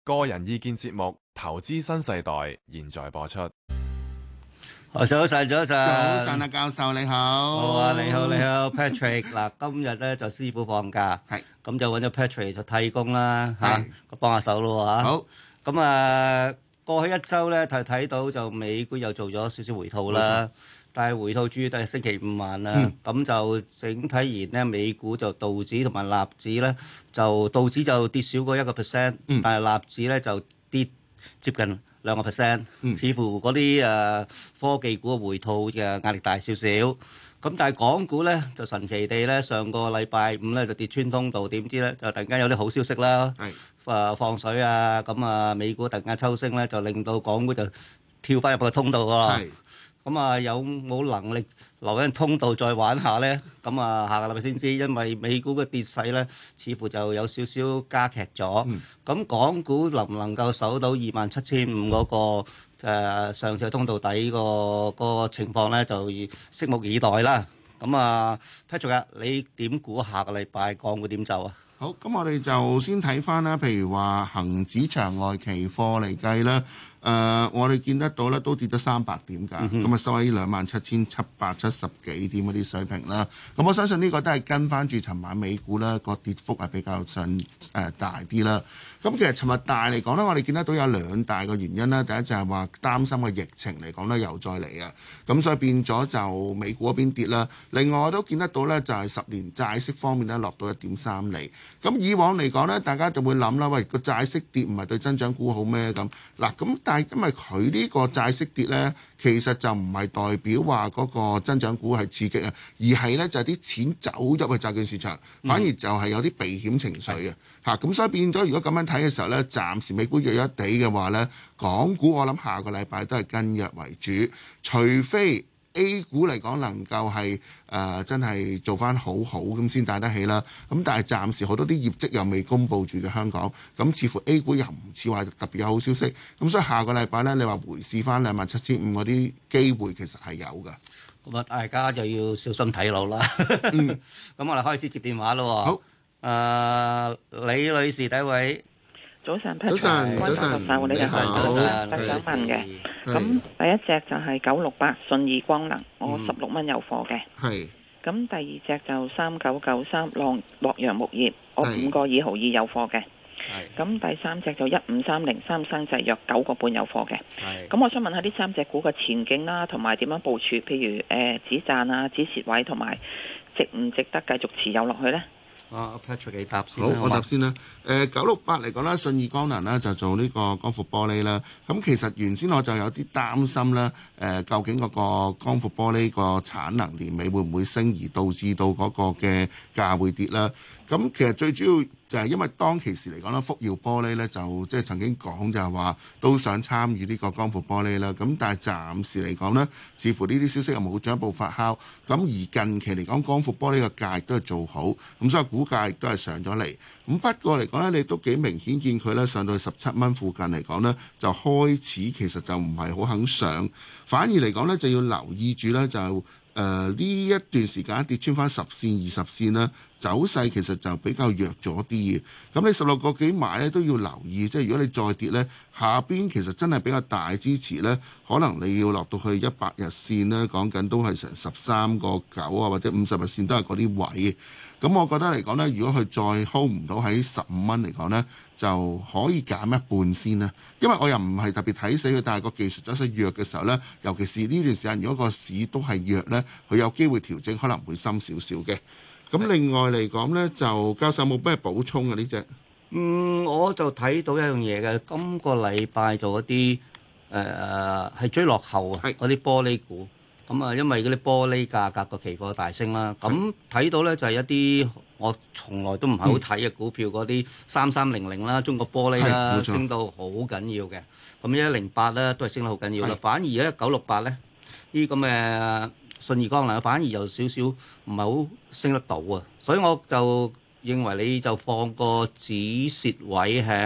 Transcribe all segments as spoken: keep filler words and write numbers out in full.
個人意見節目《投資新世代》現在播出。 哦，早晨，早晨， 早晨啊，教授你好。 好啊，你好，你好，Patrick。嗱，今日咧就師傅放假， 係咁就揾咗 Patrick 就替工啦，嚇係， 咁幫下手咯嚇。 好， 咁啊，過去一週咧睇睇到就美股又做咗少少回吐啦，但係回吐主要都係星期五晚啦。咁就整體而言咧，美股就道指同埋納指咧，就道指就跌少過一個 percent，但係納指咧就跌接近兩個 percent，似乎嗰啲誒科技股嘅回吐嘅壓力大少少。咁但係港股咧就神奇地咧，上個禮拜五咧就跌穿通道，點知咧就突然間有啲好消息啦，誒放水啊，咁啊美股突然間抽升咧，就令到港股就跳翻入個通道喎。咁啊有冇能力留喺通道再玩下咧？咁啊下個禮拜先知，因為美股嘅跌勢咧，似乎就有少少加劇咗。咁港股能唔能夠守到二萬七千五嗰個誒上次嘅通道底個個情況咧，就拭目以待啦。咁啊 Patrick 啊，你點估下個禮拜港股點走啊？ 好，咁我哋就先睇翻啦，譬如話恆指場外期貨嚟計啦。誒、呃，我哋見得到咧，都跌咗三百點㗎，咁啊收喺兩萬七千七百七十幾點嗰啲水平啦。咁我相信呢個都係跟翻住尋晚美股啦，個跌幅係比較上誒、呃、大啲啦。咁其實尋日大嚟講咧，我哋見得到有兩大個原因啦。第一就係話擔心個疫情嚟講咧，又再嚟啊，咁所以變咗就美股嗰邊跌啦。另外我都見得到咧，就係十年債息方面咧落到一點三厘。咁以往嚟講咧，大家就會諗啦，喂，個債息跌唔係對增長股好咩咁？嗱，咁但係因為佢呢個債息跌咧，其實就唔係代表話嗰個增長股係刺激啊，而係咧就係啲錢走入去債券市場，反而就係有啲避險情緒啊。嚇，咁所以變咗，如果咁樣睇嘅時候咧，暫時美股弱一地嘅話咧，港股我諗下個禮拜都係跟弱為主，除非 A 股嚟講能夠係誒、呃、真係做翻好好咁先帶得起啦。咁但係暫時好多啲業績又未公布住嘅香港，咁似乎 A 股又唔似話特別有好消息。咁所以下個禮拜咧，你話回試翻兩萬七千五嗰啲機會其實係有㗎。 咁啊，大家就要小心睇路啦。咁我哋開始接電話咯。好。誒、uh, 李女士第一位， 早晨， 早晨，早晨， 你哋好， 早晨， 我想問嘅，咁第一隻就係九六八信義光能，我十六蚊有貨嘅， 係、 嗯。咁第二隻就三九九三浪洛陽木業，我五個二毫二有貨嘅，係。咁第三隻就一五三零三生製藥九個半有貨嘅，係。咁我想問下呢三隻股嘅前景啦，同埋點樣部署？譬如誒止賺啊、止蝕位，同埋值唔值得繼續持有落去呢？ 啊 Patrick 你答先。 好，我答先啦。誒九六八嚟講啦，信義光能啦就做呢個光伏玻璃啦。咁其實原先我就有啲擔心啦。誒、呃、究竟嗰個光伏玻璃個產能年尾會唔會升，而導致到嗰個嘅價會跌啦？咁其實最主要就係因為當其時嚟講啦，福耀玻璃咧就即係曾經講就係話都想參與呢個光伏玻璃啦。咁但係暫時嚟講呢，似乎呢啲消息又冇進一步發酵。咁而近期嚟講，光伏玻璃嘅價亦都係做好，咁所以股價亦都係上咗嚟。咁不過嚟講咧，你都幾明顯見佢咧上到去十七蚊附近嚟講咧，就開始其實就唔係好肯上，反而嚟講咧就要留意住咧就誒呢、呃、一段時間跌穿翻十線、二十線啦。走勢其實就比較弱咗啲嘅，咁你十六個幾買咧都要留意，即係如果你再跌咧，下邊其實真係比較大支持咧，可能你要落到去一百日線咧，講緊都係成十三個九啊，或者五十日線都係嗰啲位。咁我覺得嚟講咧，如果佢再 hold 唔到喺十五蚊嚟講咧，就可以減一半先啦。因為我又唔係特別睇死佢，但係個技術走勢弱嘅時候咧，尤其是呢段時間，如果個市都係弱咧，佢有機會調整可能會深少少嘅。咁另外嚟講咧，就教授冇咩補充嘅呢隻？ 嗯，我就睇到一樣嘢嘅，今個禮拜做嗰啲誒係追落後啊，嗰啲玻璃股。咁啊，因為嗰啲玻璃價格個期貨大升啦，咁睇到咧就係一啲我從來都唔係好睇嘅股票，嗰啲三三零零啦、中國玻璃啦，升到好緊要嘅。咁一零八咧都係升得好緊要啦，反而咧九六八咧呢咁嘅信義光能反而有少少唔係好升得到啊，所以我就認為你就放個止蝕位喺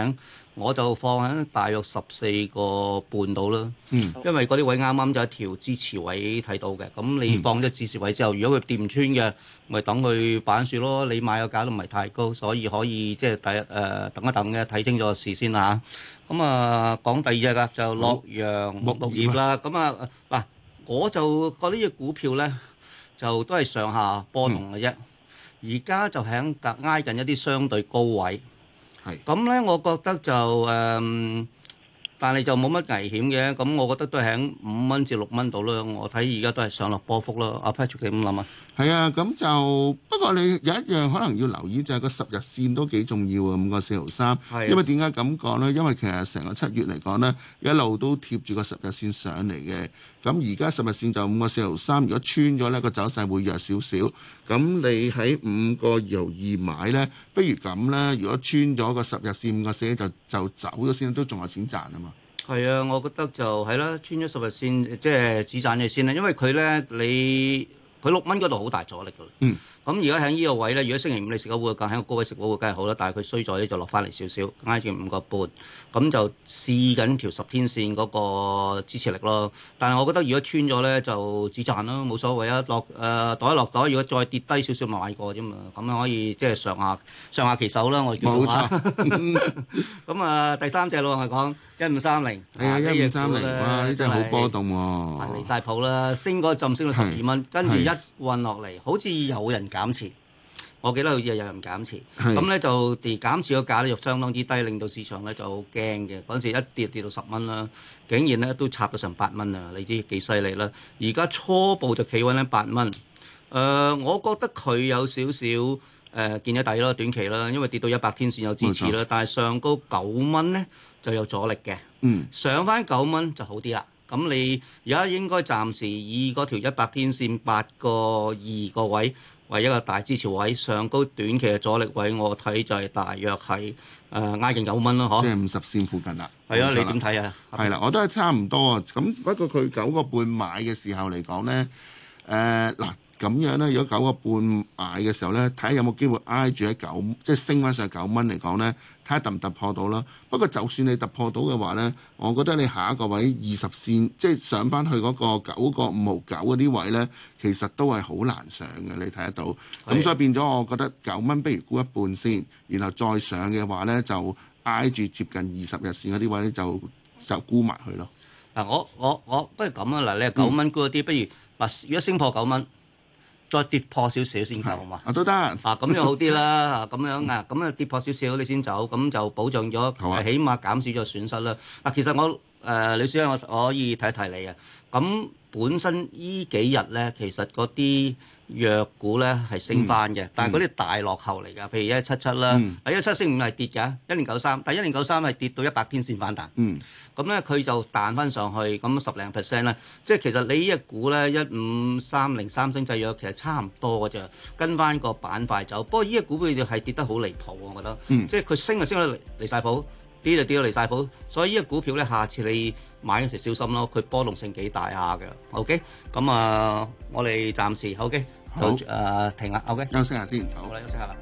我就放喺大約十四個半度啦。 嗯， 因為嗰啲位啱啱就一條支持位睇到嘅，咁你放咗支持位之後，如果佢掂唔穿嘅，咪等佢板樹咯。你買個價都唔係太高，所以可以即係第一誒等一等嘅，睇清楚事先啦。咁啊，講第二隻㗎就洛陽木業啦。咁啊嗱，我就覺得呢隻股票咧就都係上下波動嘅啫。而家就喺隔挨近一啲相對高位。係咁咧，我覺得就誒、嗯，但係就冇乜危險嘅。咁我覺得都係喺五蚊至六蚊度啦。我睇而家都係上落波幅咯。阿 Patrick 你點諗啊？ 係啊，咁就不過你有一樣可能要留意就係個十日線都幾重要啊，五個四毫三。係，因為點解咁講呢？因為其實成個七月嚟講呢，一路都貼住個十日線上嚟嘅。咁而家十日線就五個四毫三，如果穿咗呢個走勢會弱少少。咁你喺五個二毫二買呢，不如咁啦。如果穿咗個十日線五個四就就走咗先，都仲有錢賺啊嘛。 係啊，我覺得就係啦，穿咗十日線即係止賺嘅先啦。因為佢呢，你佢六蚊嗰度好大阻力㗎。嗯。咁而家喺呢個位咧，如果星期五你食咗會價喺個高位食咗會梗係好啦，但係佢衰咗咧就落翻嚟少少，挨住五個半，咁就試緊條十天線嗰個支持力咯。但係我覺得如果穿咗咧就止賺咯，冇所謂啊。落誒、呃、袋一落袋，如果再跌低少少咪買過啫嘛，咁樣可以即係上下上下其手啦。我叫做嚇。咁啊，第三隻咯，我講一五三零。係啊，一五三零，哇！呢隻好波動喎。離曬譜啦，升嗰陣升到十二蚊，跟住一運落嚟，好似有人減持，我記得好似有人減持，咁咧就跌減持個價咧就相當之低，令到市場咧就好驚嘅。嗰陣時一跌跌到十蚊啦，竟然咧都插咗成八蚊啊！你知幾犀利啦？而家初步就企穩喺八蚊。誒、呃，我覺得佢有少少誒、呃、見咗底咯，短期啦，因為跌到一百天線有支持啦，但係上高九蚊咧就有阻力嘅。嗯，上翻九蚊就好啲啦。咁你而家應該暫時以嗰條一百天線八個二個位為一個大支持位，上高短期嘅阻力位，我睇就係大約係誒挨近九蚊咯，嗬。即係五十線附近啦。係啊，你點睇啊？係啦，我都係差唔多啊。咁不過佢九個半買嘅時候嚟講咧，誒嗱咁樣咧，如果九個半買嘅時候咧，睇下有冇機會挨住喺九，即係升翻上九蚊嚟講咧。睇下突唔突破到啦。不過就算你突破到嘅話呢，我覺得你下一個位二十線，即係上翻去嗰個九個五毫九嗰啲位呢，其實都係好難上嘅。你睇得到。咁的所以變咗，我覺得九蚊不如沽一半先，然後再上嘅話呢，就挨住接近二十日線嗰啲位呢，就就沽埋佢咯。嗱，我我我不如咁啊！嗱，你係九蚊沽嗰啲，嗯、不如嗱，如果升破九蚊。再跌破少少先走嘛？啊都得啊，咁樣好啲啦，咁樣啊，咁啊跌破少少你先走，咁就保障咗，啊、起碼減少咗損失啦。嗱，其實我誒李小姐，我可以提一提你啊。咁本身依幾日咧，其實嗰啲藥股咧係升翻嘅，嗯、但係嗰啲大落後嚟㗎。譬如一七七啦，啊一七升五係跌㗎，一零九三，但係一零九三係跌到一百天線反彈。嗯，咁咧佢就彈翻上去，咁十零 percent 咧，即係其實你呢隻股咧一五三零三星製藥其實差唔多㗎啫，跟翻個板塊走。不過呢隻股票就係跌得好離譜，我覺得，嗯、即係佢升就升到離離曬譜。跌就跌到離曬譜，所以呢個股票咧，下次你買嗰時小心咯，佢波動性幾大下嘅。OK，咁啊，我哋暫時 OK，好誒、呃、停啦。OK，休息下先。好啦，休息下啦。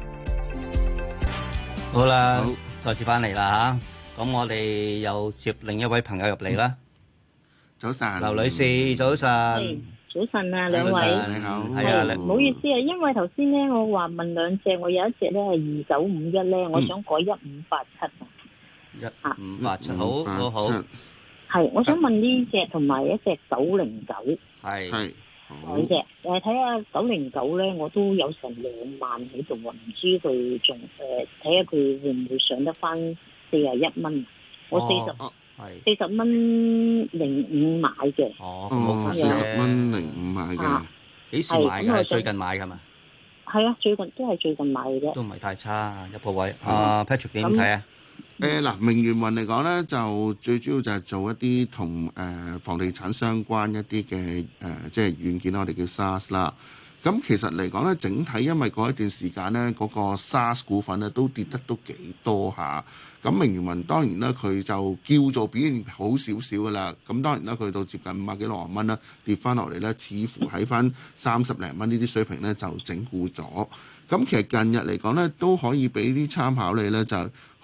好啦，好再次翻嚟啦嚇。咁我哋又接另一位朋友入嚟啦。早晨，劉女士，早晨。 早晨啊，兩位。 你好。 係啊，唔好意思啊，因為頭先咧，我話問兩隻，我有一隻咧係二九五一咧，我想改一五八七啊。 一五八七，好好好， 係，我想問呢隻同埋一隻九零九， 係係兩隻，誒睇下九零九咧，我都有成兩萬喺度啊，唔知佢仲誒睇下佢會唔會上得翻四十一蚊？我四十係四十蚊零五買嘅， 哦，四十蚊零五買嘅， 幾時買嘅？最近買㗎嘛？ 係啊，最近都係最近買嘅啫， 都唔係太差一個位。啊 Patrick 點睇啊？ 誒嗱、呃，明源雲嚟講咧，就最主要就係做一啲同誒房地產相關一啲嘅誒，即係軟件，我哋叫 SaaS 啦。咁其實嚟講咧，整體因為嗰一段時間咧，嗰、那個 SaaS 股份咧都跌得都幾多下。咁明源雲當然啦，佢就叫做表現好少少噶啦。咁當然啦，佢到接近五啊幾六啊蚊啦，跌翻落嚟咧，似乎喺翻三十零蚊呢啲水平咧就整固咗。咁其實近日嚟講咧，都可以俾啲參考你咧就。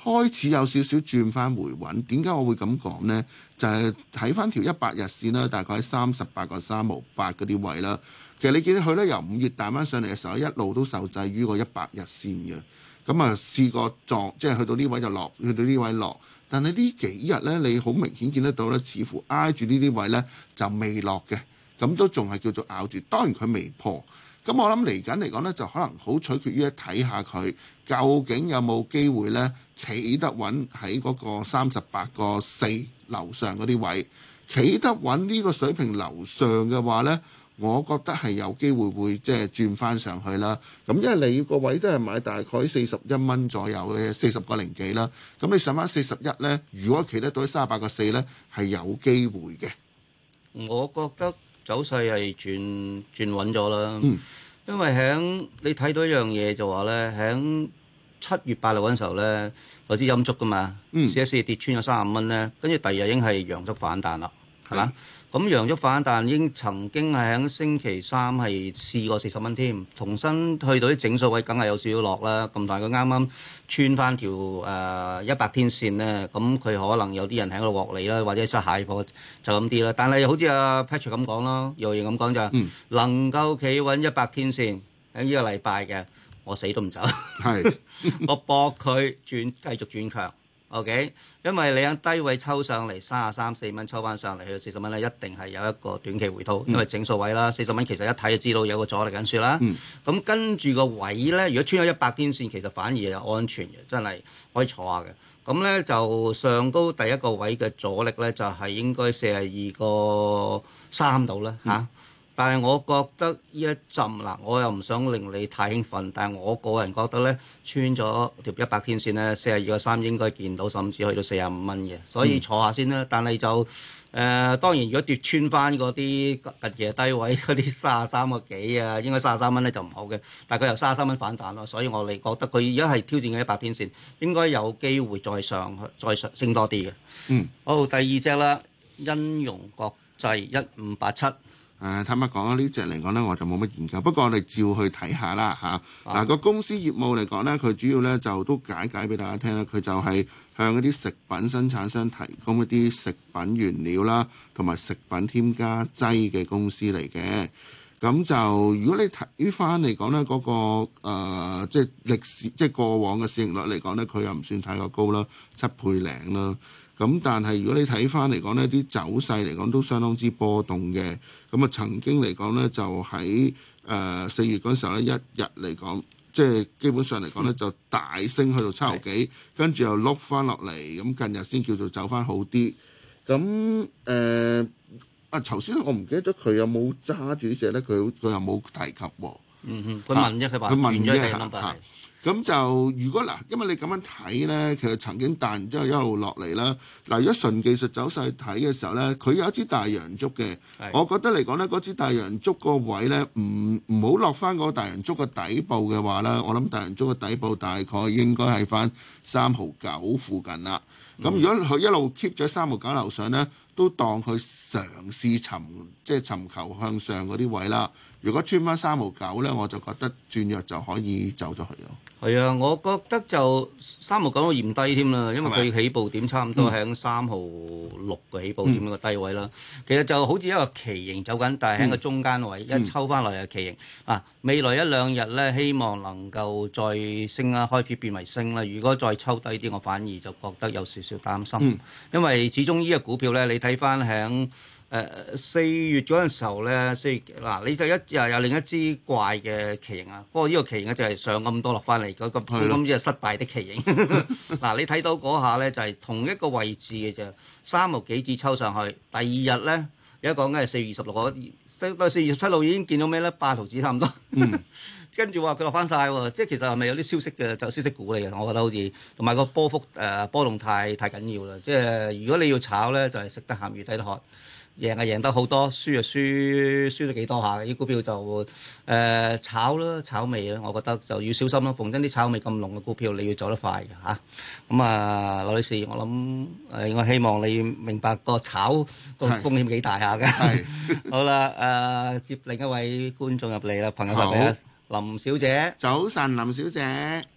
開始有少少轉翻回穩。點解我會咁講呢？就係睇翻條一百日線啦，大概喺三十八個三毫八嗰啲位啦。其實你見到佢咧由五月彈翻上嚟嘅時候，一路都受制於個一百日線嘅。咁啊試過撞，即係去到呢位就落，去到呢位落。但係呢幾日咧，你好明顯見得到咧，似乎挨住呢啲位咧就未落嘅。咁都仲係叫做咬住。當然佢未破。咁我諗嚟緊嚟講咧，就可能好取決於睇下佢究竟有冇機會咧企得穩喺嗰個三十八個四樓上嗰啲位，企得穩呢個水平樓上嘅話咧。我覺得係有機會會即係轉翻上去啦。咁因為你個位都係買大概四十一蚊左右嘅四十個零幾啦。咁你上翻四十一呢，如果企得到三十八個四呢，係有機會嘅。 我覺得走勢係轉轉穩咗啦。 嗯， 因為喺你睇到一樣嘢就話呢，喺七月八號嗰陣時候呢，有支陰燭噶嘛， 嗯， 試一試跌穿咗三十蚊呢，跟住第二日已經係陽燭反彈啦，係嘛？咁陽燭反彈已經曾經係喺星期三係試過四十蚊添，重新去到啲整數位，梗係有少少落啦。咁但係佢啱啱穿翻條誒一百天線咧，咁佢可能有啲人喺度獲利啦，或者出蟹貨就咁啲啦。但係好似阿 Patrick 咁講啦，又亦咁講就係、嗯、能夠企穩一百天線喺呢個禮拜嘅，我死都唔走。係是，我搏佢轉繼續轉強。O.K.，因為你喺低位抽上嚟三十三四蚊抽翻上嚟去到四十蚊咧，一定係有一個短期回吐，嗯、因為整數位啦，四十蚊其實一睇就知道有個阻力緊説啦。咁、嗯、跟住個位咧，如果穿咗一百天線，其實反而係安全嘅，真係可以坐下嘅。咁咧就上高第一個位嘅阻力咧，就係、是、應該四十二個三度啦嚇。嗯但係我覺得呢一陣嗱，我又唔想令你太興奮，但係我個人覺得咧，穿咗條一百天線咧，四十二個三應該見到，甚至去到四十五蚊嘅，所以坐下先啦。但係就誒、呃，當然如果跌穿翻嗰啲近期低位嗰啲三十三個幾啊，應該三十三蚊咧就唔好嘅。但係佢由三十三蚊反彈咯，所以我哋覺得佢而家係挑戰緊一百天線，應該有機會再上去，再上升多啲嘅。嗯，好，第二隻啦，欣榮國際一五八七。 誒坦白講啊，呢隻嚟講呢，我就冇乜研究。不過我哋照去睇下啦嚇。嗱、啊、個、啊、公司業務嚟講呢，佢主要呢就都解解俾大家聽啦。佢就係向一啲食品生產商提供一啲食品原料啦，同埋食品添加劑嘅公司嚟嘅。咁就如果你睇翻嚟講呢，嗰、那個、呃、即係歷史即係過往嘅市盈率嚟講呢，佢又唔算太過高啦，七倍零啦。咁但係如果你睇翻嚟講呢啲走勢嚟講都相當之波動嘅。咁啊曾經嚟講呢，就喺誒四月嗰時候呢，一日嚟講，即係基本上嚟講呢，就大升去到七毫幾，跟住又碌翻落嚟，咁近日先叫做走翻好啲。咁誒啊頭先我唔記得咗佢有冇揸住呢隻呢？佢佢又冇提及喎。 嗯哼，佢問啫，佢話佢問啫嚇。 咁就如果嗱，因為你咁樣睇呢，其實曾經彈完之後一路落嚟啦。嗱，如果純技術走勢睇嘅時候呢，佢有一支大陽燭嘅。的我覺得嚟講呢，嗰支大陽燭個位呢，唔唔好落翻嗰個大陽燭嘅底部嘅話呢，我諗大陽燭嘅底部大概應該係翻三毫九附近啦。咁、嗯、如果佢一路 keep 咗三毫九樓上呢，都當佢嘗試尋即係尋求向上嗰啲位啦。如果穿翻三毫九呢，我就覺得轉弱就可以走咗去咯。 係啊，我覺得就三毫九都嫌低添啦，因為佢起步點差唔多喺三毫六嘅起步點個低位啦。嗯、其實就好似一個旗形走緊，但係喺個中間位、嗯、一抽翻落嚟嘅旗形啊。未來一兩日咧，希望能夠再升啦，開始變為升啦。如果再抽低啲，我反而就覺得有少少擔心，嗯、因為始終呢個股票咧，你睇翻喺。誒四、呃、月嗰陣時候咧，四月嗱、啊，你就一又有另一支怪嘅旗形啊！不過呢個旗形咧就係上咁多落翻嚟，嗰個咁即係失敗的旗形。嗱、啊，你睇到嗰下咧就係、是、同一個位置嘅啫，三毫幾子抽上去。第二日咧，而家講緊係四月二十六號，到四月十七號已經見到咩咧？八毫子差唔多。嗯、跟住話佢落翻晒喎，即係其實係咪有啲消息嘅就消息股嚟嘅？我覺得好似同埋個波幅誒、呃、波動太太緊要啦。即係如果你要炒咧，就係、是、食得鹹魚抵得渴。贏啊贏得好多，輸啊輸輸得幾多下嘅啲股票就誒、呃、炒啦炒味啦，我覺得就要小心咯。逢真啲炒味咁濃嘅股票，你要走得快嘅嚇。咁啊，羅女士，我諗誒，我希望你明白個炒個風險幾大下嘅。係好啦，誒、呃、接另一位觀眾入嚟啦，朋友入嚟啦，林小姐。 早晨，林小姐。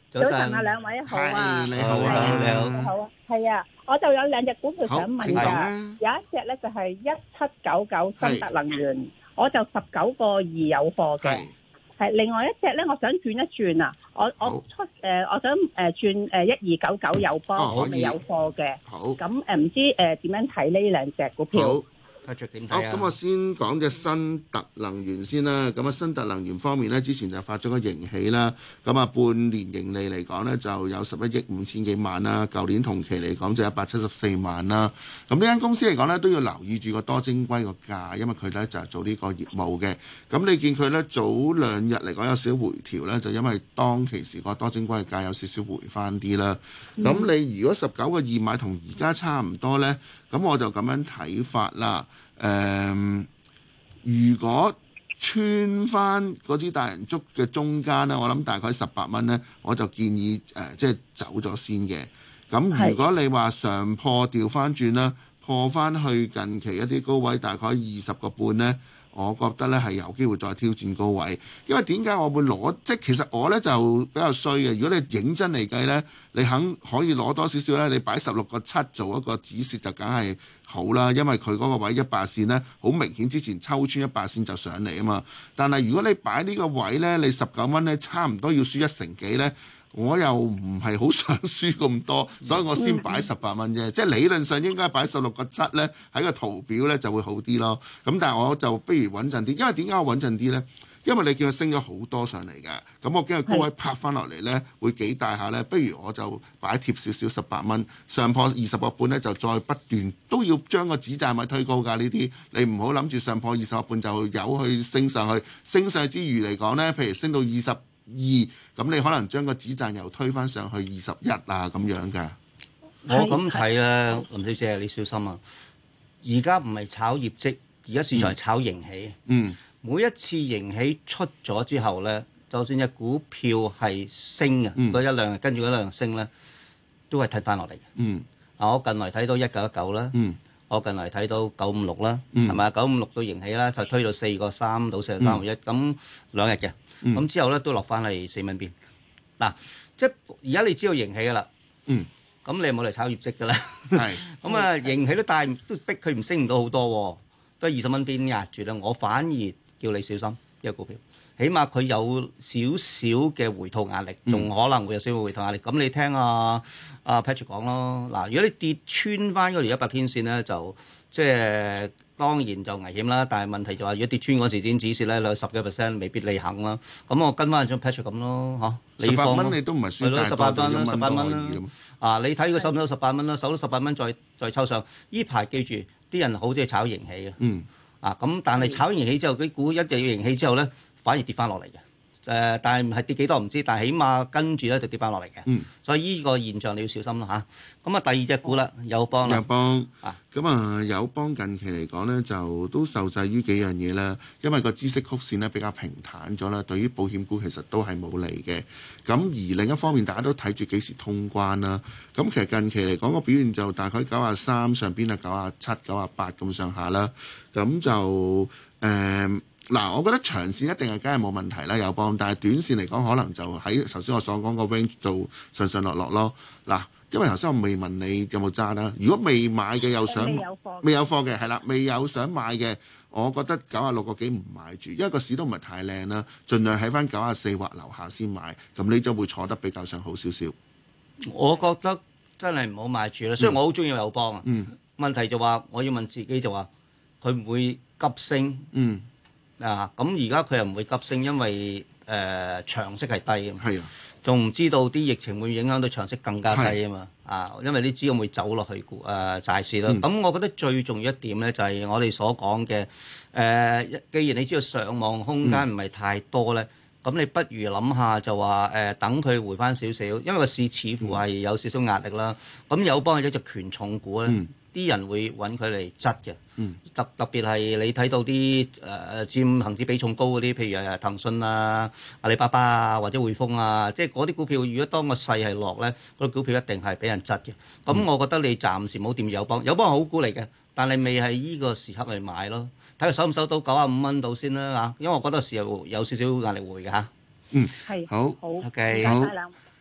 早晨啊，兩位好啊， 你好， 你好，你好， 你好啊，係啊，我就有兩隻股票想問㗎，有一隻咧就係一七九九新特能源，我就十九個二有貨嘅，係另外一隻咧，我想轉一轉啊，我我出誒，我想誒轉誒一二九九友邦，我未有貨嘅，好，咁誒唔知誒點樣睇呢兩隻股票？ 好，咁我先講隻新特能源先啦。咁啊，新特能源方面呢，之前就發咗個盈喜啦。咁啊，半年盈利嚟講呢，就有十一億五千幾萬啦。舊年同期嚟講就一百七十四萬啦。咁呢間公司嚟講呢，都要留意住個多晶硅個價，因為佢呢就係做呢個業務嘅。咁你見佢呢早兩日嚟講有少少回調呢，就因為當其時個多晶硅嘅價有少少回翻啲啦。咁、嗯、你如果十九個二買同而家差唔多呢，咁我就咁樣睇法啦。誒、嗯，如果穿翻嗰支大人竹嘅中間呢，我諗大概十八蚊呢，我就建議誒、呃，即係走咗先嘅。咁如果你話上破調翻轉啦，破翻去近期一啲高位，大概二十個半呢，我覺得咧係有機會再挑戰高位。因為點解我會攞？即係其實我咧就比較衰嘅。如果你認真嚟計咧，你肯可以攞多少少咧，你擺十六個七做一個止蝕就梗係好啦。因為佢嗰個位一百線咧，好明顯之前抽穿一百線就上嚟啊嘛。但係如果你擺呢個位咧，你十九蚊咧，差唔多要輸一成幾咧。我又唔係好想輸咁多，所以我先擺十八蚊啫。嗯、即係理論上應該擺十六個七咧，喺個圖表咧就會好啲咯。咁但係我就不如穩陣啲，因為點解我穩陣啲咧？因為你見佢升咗好多上嚟嘅，咁我驚佢高位拍翻落嚟咧會幾大下咧。不如我就擺貼少少十八蚊，上破二十個半咧就再不斷都要將個止賺位推高㗎。呢啲你唔好諗住上破二十個半就有去升上去，升上之餘嚟講咧，譬如升到二十二，咁你可能將個止賺又推返上去二十一啊咁樣嘅。 我咁睇啦，林小姐你小心啊！而家唔係炒業績，而家市場係炒盈喜。 嗯， 每一次盈喜出咗之後咧，就算隻股票係升啊，嗰、嗯、一兩日跟住嗰兩日升咧，都係睇翻落嚟嘅。 嗯， 啊，我近來睇到一九一九啦。嗯。我近嚟睇到九五六啦，係咪啊？九五六到盈喜啦，就推到四個三到四個三毫一，咁兩日嘅，咁、嗯、之後咧都落翻嚟四蚊邊。嗱、啊，即係而家你知道盈喜噶啦，咁、嗯、你冇嚟炒業績噶啦，咁啊盈喜都帶都逼佢唔升唔到好多，都係二十蚊邊壓住啦。我反而叫你小心呢個股票。起碼佢有少少嘅回吐壓力，仲可能會有少少回吐壓力。咁、嗯、你聽阿阿 Patrick 講咯。嗱，如果你跌穿翻嗰條一百天線咧，就即係當然就危險啦。但係問題就話，如果跌穿嗰時先止蝕咧，有十幾 percent 未必你肯啦。咁我跟翻張 Patrick 咁咯，嚇。 十八蚊你都唔係輸大多，都一蚊都可以啦。 啊，你睇佢收唔收十八蚊啦？收到十八蚊再再抽上。依排記住，啲人好中意炒盈喜嘅。嗯。啊，咁但係炒盈喜之後，啲股一定要盈喜之後咧，反而跌翻落嚟嘅，誒、呃，但係係跌幾多唔知，但係起碼跟住咧就跌翻落嚟嘅。嗯，所以呢個現象你要小心啦嚇。咁啊，第二隻股啦，友邦啦。友邦啊， 咁啊，友邦近期嚟講咧，就都受制於幾樣嘢啦。因為個孳息曲線咧比較平坦咗啦，對於保險股其實都係冇利嘅。咁而另一方面，大家都睇住幾時通關啦。咁其實近期嚟講個表現就大概九啊三上邊啊，九啊七、九啊八咁上下啦。咁就誒。呃嗱，我覺得長線一定係梗係冇問題啦，友邦，但係短線嚟講，可能就喺頭先我所講個 range 度上上落落咯。嗱，因為頭先我未問你有冇揸啦，如果未買嘅又想未有貨嘅係啦，未有想買嘅，我覺得九啊六個幾唔買住，因為個市都唔係太靚啦，盡量喺翻九啊四或樓下先買，咁你就會坐得比較上好少少。 我覺得真係唔好買住啦，雖然我好中意友邦啊，嗯、問題就話我要問自己就話佢唔會急升。嗯。啊，咁而家佢又唔會急升，因為誒、呃、長息係低啊嘛，仲唔知道啲疫情會影響到長息更加低啊嘛，啊，因為啲資金會走落去股誒債市啦。咁、嗯、我覺得最重要一點咧，就係我哋所講嘅誒，既然你知道上網空間唔係太多咧，咁、嗯、你不如諗下就話誒、呃，等佢回翻少少，因為個市似乎係有少少壓力啦。咁友邦係一隻權重股咧。嗯啲人會揾佢嚟質嘅，嗯、特特別係你睇到啲誒、呃、佔恆指比重高嗰啲，譬如誒騰訊啊、阿里巴巴啊或者匯豐啊，即係嗰啲股票，如果當個勢係落咧，嗰啲股票一定係俾人質嘅。咁、嗯、我覺得你暫時冇掂友邦，友邦係好股嚟嘅，但係未係依個時刻嚟買咯。睇下收唔收到九啊五蚊度先啦嚇，因為我覺得時候有少少壓力會嘅嚇。嗯， 係好， 好 ，OK， 好。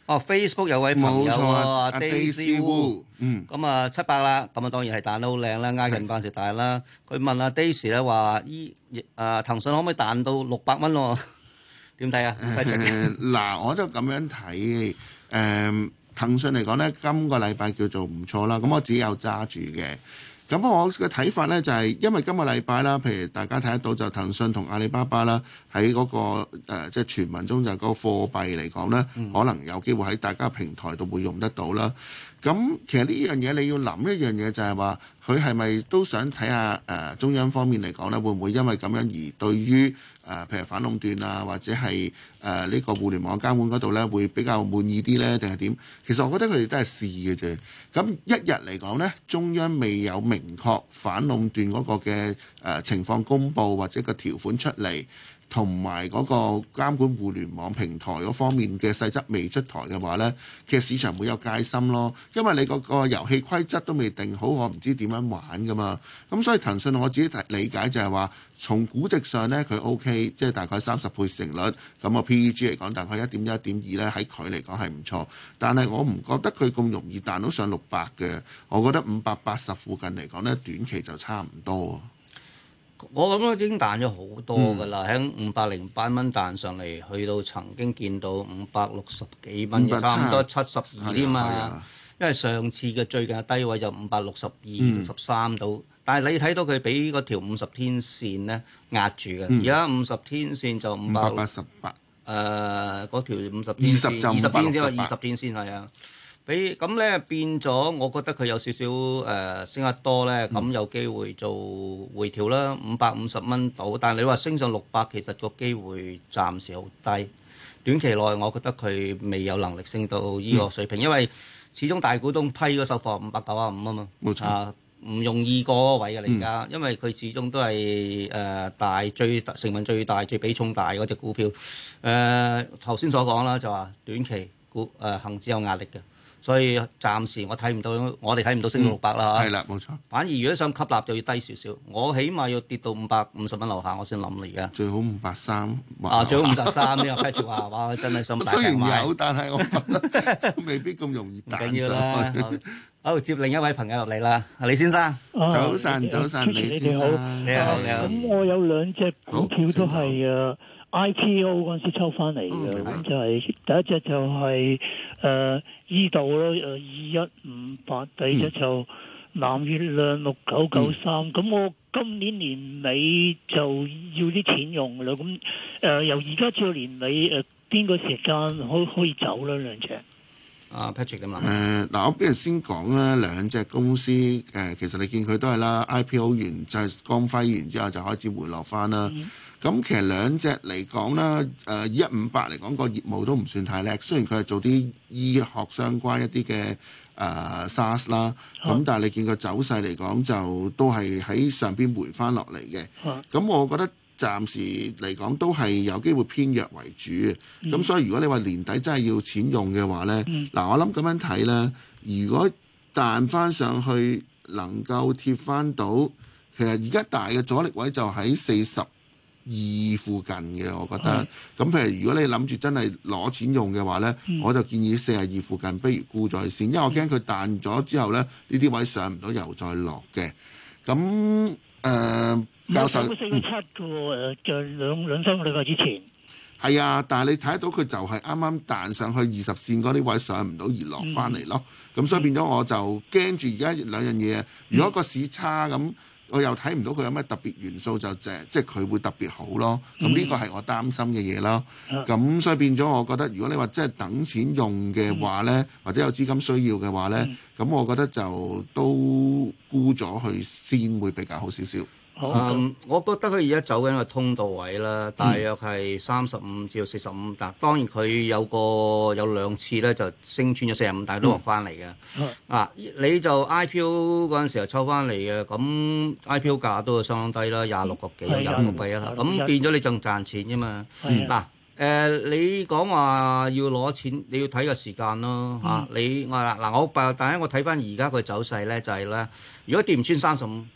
哦，Facebook 有位朋友啊 ，Daisy Wu， 嗯， 咁啊七百啦，咁啊當然係彈得好靚啦，挨近八十大啦。佢問阿 Daisy 咧話依誒騰訊可唔可以彈到六百蚊喎？點睇啊？ 誒嗱，我就咁樣睇誒騰訊嚟講咧，今個禮拜叫做唔錯啦。咁我自己有揸住嘅。咁我嘅睇法呢，就係、是，因為今個禮拜啦，譬如大家睇得到就騰訊同阿里巴巴啦，喺嗰、那個、呃、即係傳聞中就係嗰個貨幣嚟講呢，嗯、可能有機會喺大家平台度會用得到啦。咁其實呢樣嘢你要諗一樣嘢就係話，佢係咪都想睇下誒、呃、中央方面嚟講呢，會唔會因為咁樣而對於誒、呃、譬如反壟斷啊，或者係誒呢個互聯網監管嗰度呢，會比較滿意啲呢？定係點？其實我覺得佢哋都係試嘅啫。咁一日嚟講呢，中央未有明確反壟斷嗰個嘅誒、呃、情況公佈或者個條款出嚟，同埋嗰個監管互聯網平台嗰方面嘅細則未出台嘅話呢，其實市場會有戒心咯。因為你嗰個遊戲規則都未定好，我唔知點樣玩噶嘛。咁所以騰訊我自己理解就係話，從估值上呢，佢 O K， 即係大概三十倍市盈率，咁個 P E G 嚟講大概一點一、一點二呢，喺佢嚟講係唔錯。但係我唔覺得佢咁容易彈到上六百嘅。我覺得五百八十附近嚟講呢，短期就差唔多。 我諗都已經彈咗好多㗎啦，喺五百零八蚊彈上嚟，去到曾經見到五百六十幾蚊，差唔多七十二添嘛。因為上次嘅最近嘅低位就五百六十二、六十三度，但係你睇到佢俾嗰條五十天線咧壓住嘅，而家五十天線就五百八十八。 誒，嗰條五十天線，二十天線，二十天線係啊。俾咁咧變咗，我覺得佢有少少誒、呃、升得多咧，咁、嗯、有機會做回調啦，五百五十蚊到。但係你話升上六百，其實個機會暫時好低。短期內我覺得佢未有能力升到呢個水平，嗯、因為始終大股東批嗰手貨五百九十五啊嘛， 冇錯啊， 唔容易過嗰位嘅嚟㗎，嗯、因為佢始終都係誒、呃、大最成分最大、最比重大嗰隻股票。誒頭先所講啦，就話短期股誒恆指有壓力嘅。所以暫時我睇唔到，我哋睇唔到升到六百啦嚇。 係啦、嗯，冇錯。 反而如果想吸納就要低少少，我起碼要跌到五百五十蚊樓下，我先諗啦而家。 最好五百三。 啊，最好五百三呢個 Patrick 話，哇，真係想大平買。雖然有，但係我覺得未必咁容易彈上去。唔緊要啦。 好，接另一位朋友入嚟啦，李先生。 早晨，早晨，李先生。 你好，你好。 咁我有兩隻股票都係誒 I P O 嗰陣時抽翻嚟嘅，咁就係第一隻就係誒依度咯，誒二一五八，第二隻就藍月亮六九九三。咁我今年年尾就要啲錢用㗎啦，咁誒由而家至到年尾誒邊個時間可可以走咧兩隻？ 啊 Patrick 點啊？ 誒嗱，我俾人先講啦，兩隻公司誒、呃，其實你見佢都係啦 I P O 完就係光輝完之後就開始回落翻啦。嗯咁其實兩隻嚟講啦，誒一五八嚟講個業務都唔算太叻，雖然佢係做啲醫學相關一啲嘅誒 SaaS 啦，咁、啊、但係你見個走勢嚟講就都係喺上邊回翻落嚟嘅。咁、啊、我覺得暫時嚟講都係有機會偏弱為主嘅。咁、嗯、所以如果你話年底真係要錢用嘅話呢，嗱、嗯、我諗咁樣睇啦，如果彈翻上去能夠貼翻到，其實而家大嘅阻力位就喺四十二附近嘅，我覺得咁。譬如如果你諗住真係攞錢用嘅話呢，嗯、我就建議四十二附近不如沽咗先，因為我驚佢彈咗之後呢，呢啲位上唔到又再落嘅。咁誒、呃，教授四個七嘅喎，就兩兩三個禮拜之前係啊，但係你睇得到佢就係啱啱彈上去二十線嗰啲位上唔到而落翻嚟咯。咁、嗯、所以變咗我就驚住而家兩樣嘢，如果個市差咁。我又睇唔到佢有咩特別元素，就即係即係佢會特別好咯。咁呢個係我擔心嘅嘢咯。咁、嗯、所以變咗，我覺得如果你話即係等錢用嘅話呢，嗯、或者有資金需要嘅話呢，咁、嗯、我覺得就都沽咗佢先會比較好少少。 好，嗯，我覺得佢而家走緊個通道位啦，大約係三十五至到四十五。但當然佢有個有兩次咧就升穿咗四十五，但係都落翻嚟嘅。嗯、啊，你就 I P O 嗰陣時候抽翻嚟嘅，咁 I P O 價都係相當低啦，廿六個幾，廿六個幾啦。咁變咗你仲賺錢啫嘛。嗱、嗯，誒、呃，你講話要攞錢，你要睇個時間咯嚇、嗯啊。你我嗱嗱，我但係我睇翻而家個走勢咧，就係、是、咧，如果跌唔穿三十五。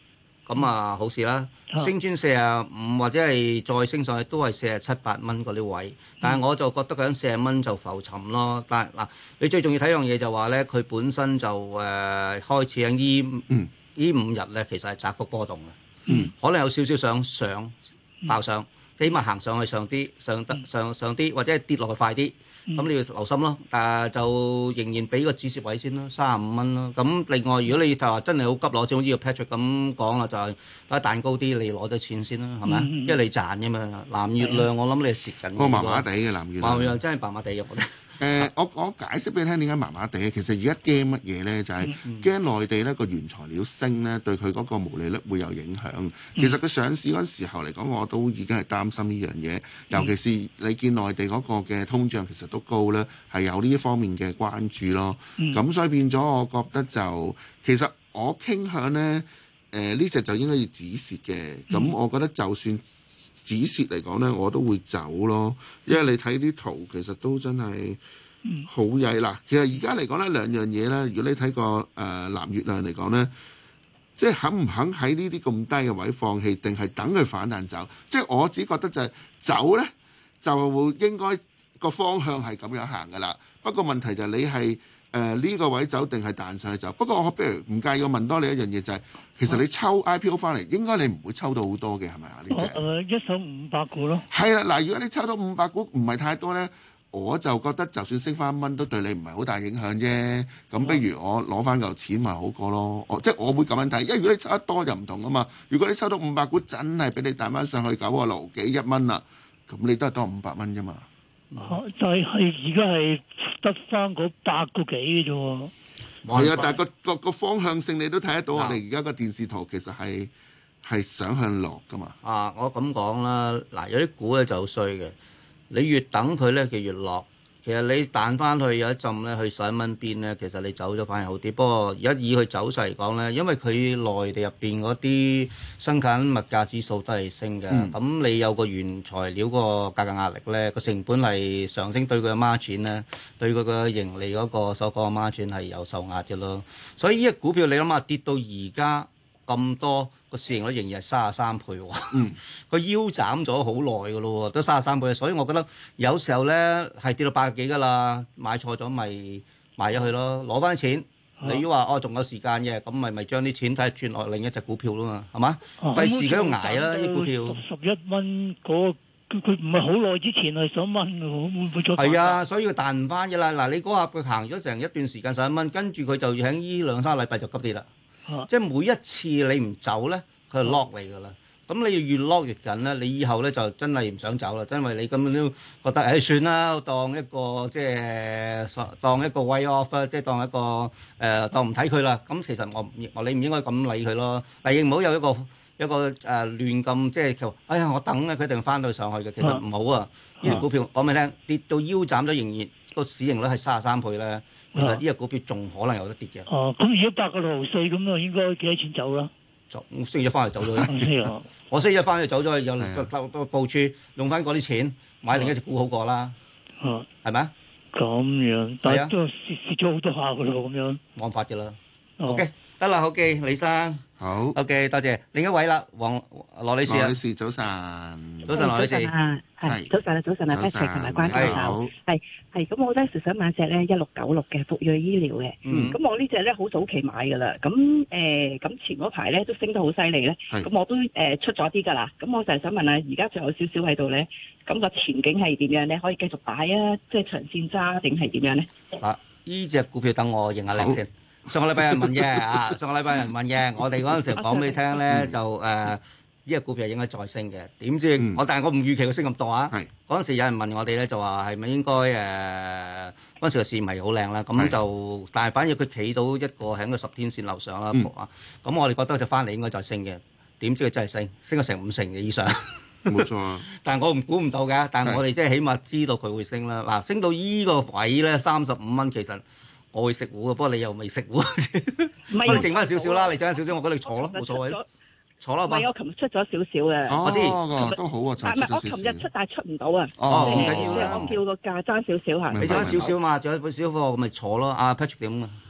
咁啊好事啦。升穿四十五或者係再升上去都係四十七八蚊嗰啲位，但係我就覺得佢喺四十蚊就浮沉咯。但係嗱，你最重要睇樣嘢就話咧，佢本身就誒、呃、開始喺呢呢五日咧，其實係窄幅波動嘅，嗯、可能有少少想上爆上，即係起碼行上去上啲，上得上上啲，或者係跌落去快啲。咁、嗯、你要留心咯，但係就仍然俾個止蝕位先咯，三十五蚊咯。咁另外，如果你就話真係好急攞錢，好似個 Patrick 咁講啦，就係擺彈高啲，你攞咗錢先啦，係咪？嗯、因為你賺嘅嘛。藍月亮我諗你係蝕緊。 個麻麻地嘅藍月亮。 藍月亮真係麻麻地嘅，我覺得。 誒、呃，我我解釋俾你聽點解麻麻地。其實而家驚乜嘢咧？就係、是、驚內地咧個原材料升咧，對佢嗰個毛利率會有影響。其實佢上市嗰陣時候嚟講，我都已經係擔心呢樣嘢。尤其是你見內地嗰個嘅通脹其實都高咧，係有呢一方面嘅關注咯。咁、嗯、所以變咗，我覺得就其實我傾向咧，誒呢隻就應該要止蝕嘅。咁、嗯、我覺得就算止蝕嚟講咧，我都會走咯，因為你睇啲圖其實都真係好曳啦。其實而家嚟講咧，兩樣嘢咧，如果你睇個誒藍月亮嚟講咧，即係肯唔肯喺呢啲咁低嘅位放棄，定係等佢反彈走？即係我只覺得就係走咧，就應該個方向係咁樣行噶啦。不過問題就係你係誒呢個位走定係彈上去走？不過我不如唔介意我問多你一樣嘢，就係、是、其實你抽 I P O 翻嚟，應該你唔會抽到好多嘅係咪啊？呢隻誒一手五百股咯。係啊，嗱，如果你抽到五百股唔係太多咧，我就覺得就算升翻一蚊都對你唔係好大影響啫。咁不如我攞翻嚿錢咪好過咯。我即係我會咁樣睇，因為如果你抽得多就唔同啊嘛。如果你抽到五百股真係俾你彈翻上去九個六幾一蚊啦，咁你都係多五百蚊啫嘛。 啊、就係而家係得翻嗰八個幾嘅啫喎。 係啊，但係個個個方向性你都睇得到，我哋而家個電視圖其實係係想向落噶嘛。 啊，我咁講啦，嗱，有啲股咧就好衰嘅，你越等佢咧，佢越落。其實你彈翻去有一陣咧，去十一蚊邊咧，其實你走咗反而好啲。不過而家以佢走勢嚟講咧，因為佢內地入邊嗰啲生產物價指數都係升嘅，咁、嗯、你有個原材料個價格壓力咧，個成本係上升，對佢嘅孖展咧，對佢嘅盈利嗰個所講嘅孖展係有受壓嘅咯。所以呢隻股票你諗下跌到而家咁多，個市盈率仍然係三十三倍喎，個、嗯、腰斬咗好耐嘅咯喎，都三十三倍，所以我覺得有時候咧係跌到八十幾㗎啦，買錯咗咪賣咗佢咯，攞翻啲錢。啊、你如果話哦仲有時間嘅，咁咪咪將啲錢睇轉落另一隻股票咯嘛，係嘛？費事佢喺度捱啦啲股票。 十一蚊嗰個佢唔係好耐之前係十一蚊喎，會唔會再？ 係啊，所以佢彈唔翻嘅啦。嗱，你嗰下佢行咗成一段時間十一蚊，跟住佢就喺呢兩三個禮拜就急跌啦。啊、即係每一次你唔走咧，佢就 lock 你㗎啦。咁、啊、你要越 lock 越緊咧，你以後咧就真係唔想走啦。因為你咁樣都覺得誒、哎、算啦，當一個即係當一個 way off 啦，即係當一個誒、呃、當唔睇佢啦。咁其實我我你唔應該咁理佢咯。但係唔好有一個一個誒、呃、亂咁即係叫哎呀我等啊，佢一定翻到上去嘅。其實唔好啊。呢隻、啊、股票講俾你聽，跌到腰斬咗，仍然個市盈率係三十三倍咧。其實呢隻股票仲可能有得跌嘅。 哦，咁如果八個六毫四咁啊，應該幾多錢走啦？ 就星期一翻嚟走咗啦。我星期一翻嚟走咗，有個個部署用翻嗰啲錢買另一隻股好過啦。哦，係咪啊？ 咁樣，但係都蝕蝕咗好多下噶咯，咁樣。冇法嘅啦。OK，得啦，好嘅，李生。好。OK，多謝。另一位啦，黃羅女士啊。羅女士早晨。早晨，羅女士。 係早晨啊，早晨啊，Patrick 同埋關教授，係係咁，我咧就想買隻咧一六九六嘅復銳醫療嘅，咁、嗯、我呢隻咧好早期買㗎啦，咁誒咁前嗰排咧都升得好犀利咧，咁是我都誒、呃、出咗啲㗎啦，咁我就係想問下，而家仲有少少喺度咧，咁個前景係點樣咧？可以繼續擺啊，即係長線揸定係點樣咧？ 啊，呢隻股票等我認下靚先。上個禮拜有人問嘅啊，上個禮拜有人問嘅，我哋嗰陣時講俾你聽咧，就誒。呃呢個股票應該再升嘅，點知、嗯、我但係我唔預期佢升咁多啊！嗰陣是時有人問我哋咧，就話係咪應該誒嗰陣時個市唔係好靚啦，咁就是但係反而佢企到一個喺個十天線樓上啦，咁、嗯、我哋覺得就翻嚟應該再升嘅，點知佢真係升，升咗成五成嘅以上。 冇錯啊！ 但係我唔估唔到嘅，但係我哋即係起碼知道佢會升啦。嗱，升到依個位咧，三十五蚊，其實我會食糊嘅，不過你又未食糊，不過你剩翻少少啦，你剩翻少少，我覺得你坐咯，冇所謂。坐啦， 唔係我琴日出咗少少嘅， 哦、 我知都好啊， 唔係我琴日出，但係出唔到啊。 哦，唔緊要，我叫個價爭少少嚇。 你爭少少嘛，仲有少少貨，我咪坐咯。阿 Patrick 點啊？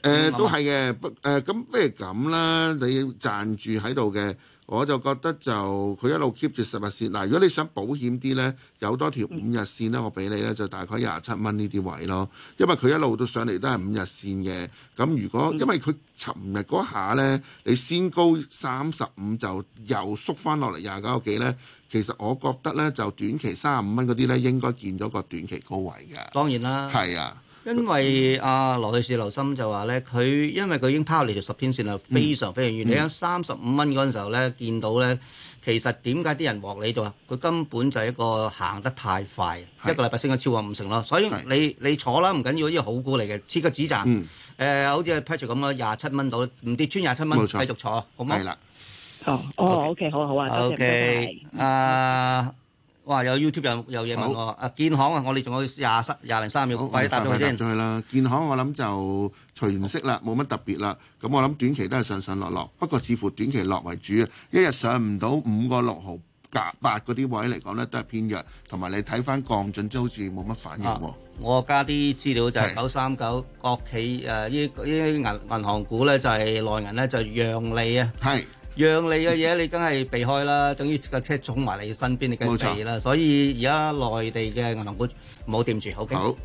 誒都係嘅，不誒咁不如咁啦，你賺住喺度嘅。我就覺得就佢一路 keep 住十日線嗱，如果你想保險啲呢，有多條五日線呢，我俾你呢，就大概廿七蚊呢啲位咯，因為佢一路到上嚟都係五日線嘅。咁如果因為佢尋日嗰下呢，你先高三十五就又縮翻落嚟廿九個幾呢，其實我覺得呢，就短期三十五蚊嗰啲呢，應該見咗個短期高位嘅。 當然啦， 係啊。 因為阿羅女士留心就話咧，佢因為佢已經拋離條十天線啦，非常非常遠。嗯、你喺三十五蚊嗰陣時候咧，見到咧，其實點解啲人獲利度啊？佢根本就係一個行得太快，是一個禮拜升咗超過五成咯。所以你是你坐啦，唔緊要，呢個好股嚟嘅，切個止賺。誒、嗯呃，好似 Patrick 咁咯，廿七蚊到，唔跌穿廿七蚊，繼續坐，好冇？係啦。 哦，哦，OK，好好啊。 OK，啊。哇！有 YouTube 有有嘢問我，啊建行啊，我哋仲有廿三廿零三秒，快啲答咗佢先。 去啦，建行我諗就除完息啦，冇乜特別啦。咁我諗短期都係上上落落，不過似乎短期落為主啊。一日上唔到五個六毫夾八嗰啲位嚟講咧，都係偏弱。同埋你睇翻降準，都好似冇乜反應喎、啊。 我加啲資料就係九三九國企誒，呢呢銀銀行股咧就係內銀咧就讓利啊。係。讓利嘅嘢你梗係避開啦，等於架車衝埋你身邊，你梗係避啦。所以而家內地嘅銀行股唔好掂住，OK？好。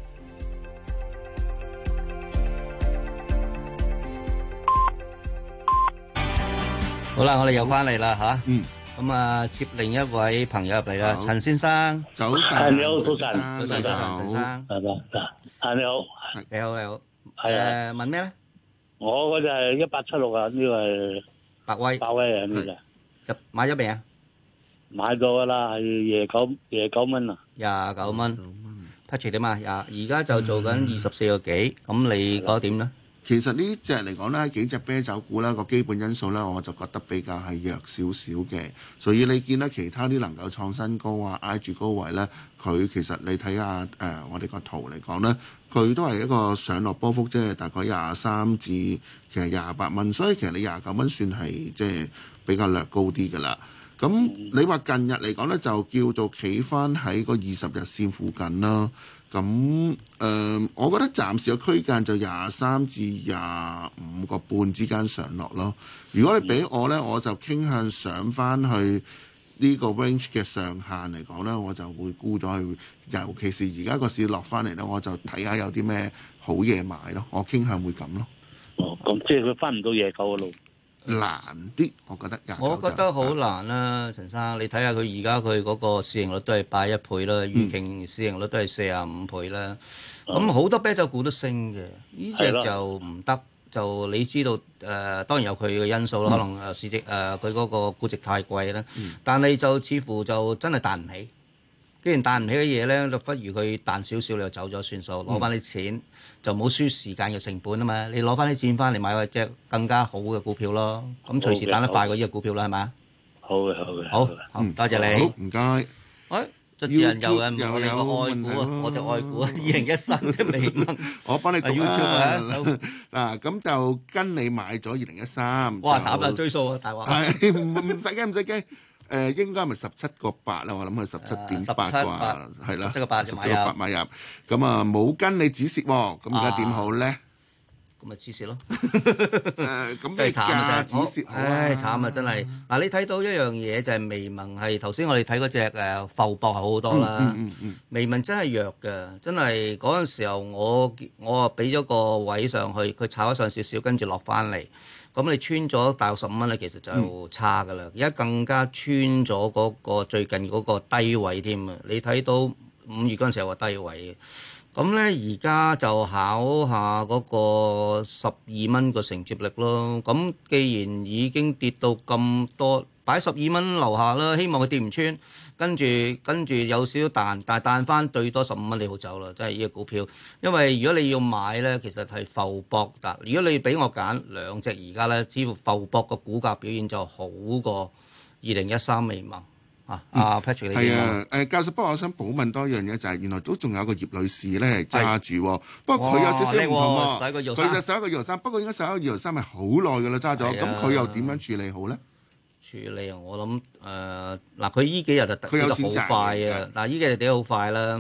好啦，我哋又翻嚟啦嚇。嗯。咁啊，接另一位朋友入嚟啦，陳先生。 早晨。 你好，早晨。 早晨，早晨，陳生。 係嘛？啊，你好。 你好，你好。 係啊。 誒，問咩咧？ 我嗰隻係一八七六啊，呢個係。 百威， 百威啊！呢隻就買咗未啊？ 買咗噶啦，係廿九廿九蚊啊！ 廿九蚊，Patrick 點啊？廿而家就做緊二十四個幾，咁你覺得點咧？ 其實呢隻嚟講咧，幾隻啤酒股咧個基本因素咧，我就覺得比較係弱少少嘅。所以你見到其他啲能夠創新高啊，挨住高位咧，佢其實你睇下誒、呃，我哋個圖嚟講咧，佢都係一個上落波幅，即係大概廿三至其實廿八蚊。所以其實你廿九蚊算係即係比較略高啲㗎啦。咁你話近日嚟講咧，就叫做企翻喺個二十日線附近啦。咁誒、呃，我覺得暫時嘅區間就廿三至廿五個半之間上落咯。如果你俾我呢，我就傾向上翻去呢個 range 嘅上限嚟講呢，我就會沽咗去。尤其是而家個市落翻嚟呢，我就睇下有啲咩好嘢買咯。我傾向會咁咯。 哦，咁即係佢翻唔到廿九嘅路。 難啲，我覺得。 我覺得好難啦、啊，陳生，你睇下佢而家佢嗰個市盈率都係八一倍啦，預期、嗯、市盈率都係四十五倍啦。咁好、嗯、多啤酒股都升嘅，呢隻就唔得。就你知道誒、呃，當然有佢嘅因素啦，嗯、可能誒市值誒佢嗰個估值太貴啦。嗯、但係就似乎就真係彈唔起。既然彈唔起嘅嘢咧，就不如佢彈少少，你就走咗算數，攞翻啲錢、嗯、就冇輸時間嘅成本啊嘛！你攞翻啲錢翻嚟買隻更加好嘅股票咯，咁隨時彈得快過呢個股票啦，係咪？ 好嘅，好嘅， 好，好，多謝你， 好唔該。 喂，主持人有人問我哋個愛股啊，我隻愛股啊，二零一三即係未問， 我幫你讀啊。嗱，咁就跟你買咗二零一三。 哇！慘啦，追數啊，大話。 係唔唔使驚，唔使驚。誒應該係咪十七個八啦？我諗係十七點八啩，係啦，十七個八買入，咁啊冇跟你止蝕喎，咁而家點好咧？ 咁咪止蝕咯。 誒咁真係慘啊！止蝕， 唉慘啊！真係嗱，你睇到一樣嘢就係微盟係頭先我哋睇嗰隻誒浮博係好好多啦。微盟真係弱嘅，真係嗰陣時候我我啊俾咗個位上去，佢炒咗上少少，跟住落翻嚟。咁你穿咗大約十五蚊咧，其實就差噶啦。而家更加穿咗嗰個最近嗰個低位添啊！你睇到五月嗰陣時有個低位嘅。咁咧而家就考下嗰個十二蚊個承接力咯。咁既然已經跌到咁多，擺十二蚊樓下啦，希望佢跌唔穿。跟住跟住有少少彈，但係彈翻最多十五蚊你好走啦，真係呢個股票。因為如果你要買咧，其實係浮博㗎。如果你俾我揀兩隻而家咧，似乎浮博個股價表現就好過二零一三微盟啊。阿 Patrick 你點啊？ 係啊，誒教授，不過我想補問多一樣嘢，就係原來都仲有個葉女士咧係揸住，不過佢有少少唔同喎。佢就十一個月三，不過應該十一個月三係好耐㗎啦，揸咗。咁佢又點樣處理好咧？ 處理啊！我諗誒嗱，佢依幾日就跌得好快啊！嗱，依幾日跌得好快啦。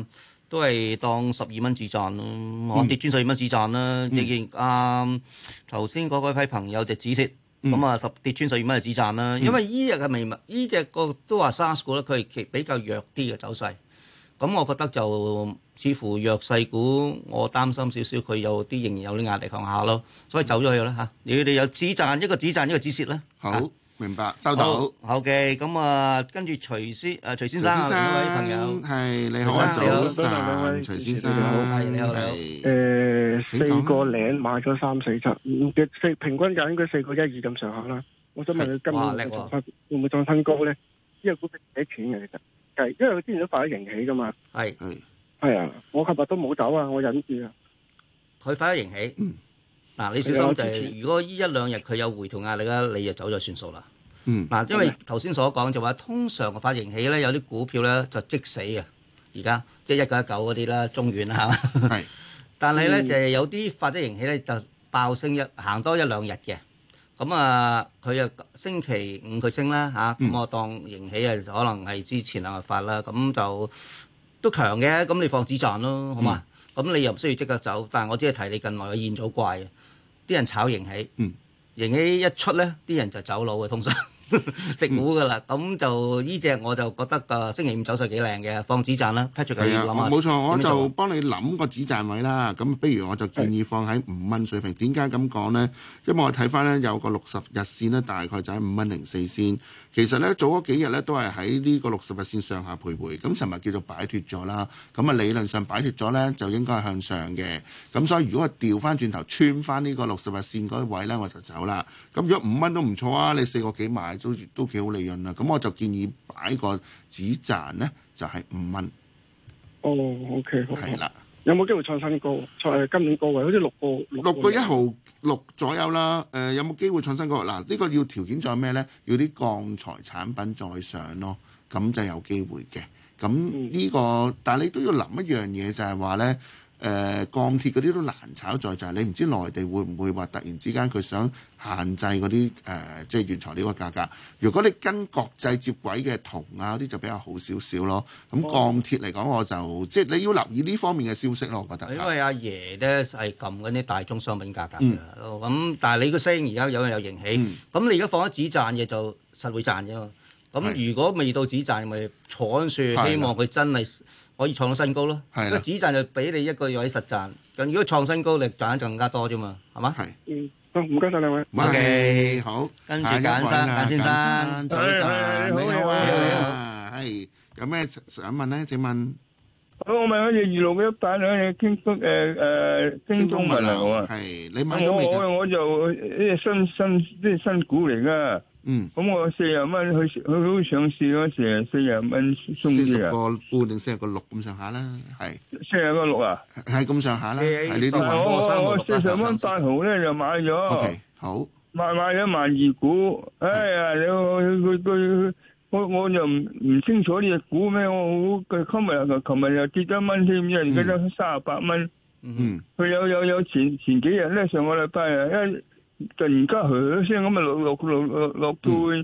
都係當十二蚊止賺咯，我、嗯、跌穿十二蚊止賺啦。你見啱頭先嗰批朋友就止蝕，咁啊十跌穿十二蚊就止賺啦。嗯、因為依隻嘅未物，依隻個都話 SARS 股咧，佢係比較弱啲嘅走勢。咁我覺得就似乎弱勢股，我擔心少少，佢有啲仍然有啲壓力向下咯，所以走咗去啦嚇。你哋有止賺一個止賺一個止蝕啦。 好。啊明白，收到。 好嘅，咁啊，跟住徐先，誒徐先生，兩位朋友， 係你好，早晨，徐先生， 係你好， 誒四個零買咗三四七，嘅四平均價應該四個一二咁上下啦。我想問佢今年會唔會會唔會創新高咧？呢個股票幾錢嘅其實係，因為佢之前都發咗盈喜噶嘛。 係係係啊，我琴日都冇走啊，我忍住啊。 佢發咗盈喜。嗯。嗱，你小心就係，如果依一兩日佢有回調壓力啦，你就走咗算數啦。 嗯。 嗱，因為頭先所講就話，通常個發盈喜咧，有啲股票咧就即死嘅。而家即係一九一九嗰啲啦，中遠啦嚇。係。但係咧就係有啲發咗盈喜咧，就爆升一行多一兩日嘅。咁啊，佢又星期五佢升啦嚇，咁我當盈喜啊，可能係之前兩日發啦，咁就都強嘅，咁你放止賺咯，好嘛？咁你又唔需要即刻走，但係我只係提你近來嘅現早怪，啲人炒盈喜， 嗯、 盈喜一出咧，啲人就走佬嘅通常。食糊噶啦，咁、嗯、就呢隻我就覺得個星期五走勢幾靚嘅，放止賺啦 Patrick 可以諗下。 冇錯，我就幫你諗個止賺位啦。咁不如我就建議放喺五蚊水平。點解咁講呢？因為我睇翻呢，有個六十日線呢，大概就喺五蚊零四先。其實呢，早嗰幾日呢，都係喺呢個六十日線上下徘徊。咁尋日叫做擺脱咗啦。咁啊理論上擺脱咗呢，就應該係向上嘅。咁所以如果我調翻轉頭穿翻呢個六十日線嗰位呢，我就走啦。咁如果五蚊都唔錯啊，你四個幾買都都幾好利潤啦。咁我就建議擺個止賺呢，就係五蚊。 哦，OK， 係啦。 有冇機會創新高？創今年高位好似六個六個一毫六左右啦。誒、呃，有冇機會創新高？嗱，呢個要條件再咩呢？要啲鋼材產品再上咯，咁就有機會嘅。咁呢、呢個，嗯、但係你都要諗一樣嘢，就係話呢。誒、呃、鋼鐵嗰啲都難炒在就係你唔知內地會唔會話突然之間佢想限制嗰啲誒即係原材料嘅價格。如果你跟國際接軌嘅銅啊嗰啲就比較好少少咯。咁鋼鐵嚟講我就即係你要留意呢方面嘅消息咯，我覺得。 因為阿爺咧係撳緊啲大宗商品價格㗎，咁、嗯、但係你個聲而家有有盈喜，咁、嗯、你而家放咗止賺嘅就實會賺啫嘛。咁如果未到止賺，咪坐緊樹，希望佢真係可以創到新高咯。係啦，止賺就俾你一個月實賺。咁如果創新高，你賺得更加多啫嘛，係嘛？係。 嗯，好，唔該曬兩位。 O K，好。 跟住簡生，簡先生， 早晨，你好啊，係。有咩想問咧？請問。 我問嗰隻二六一八咧，京東誒誒京東物流啊。 係，你買咗未？ 我我就呢新新即係新股嚟㗎。 嗯， 咁我四十蚊去去好上市嗰時，四十蚊鬆啲啊，四十個半定四十個六咁上下啦，係四十個六啊， 係咁上下啦，係呢啲位。 我我四十蚊八毫咧就買咗 ，OK，好， 買買咗萬二股，哎呀，你佢佢我我就唔唔清楚呢隻股咩，我佢今日琴日又跌咗蚊添，因為而家都三十八蚊， 嗯， 佢有有有前前幾日咧，上個禮拜啊一。突然間響聲咁啊，落落落落落到誒誒誒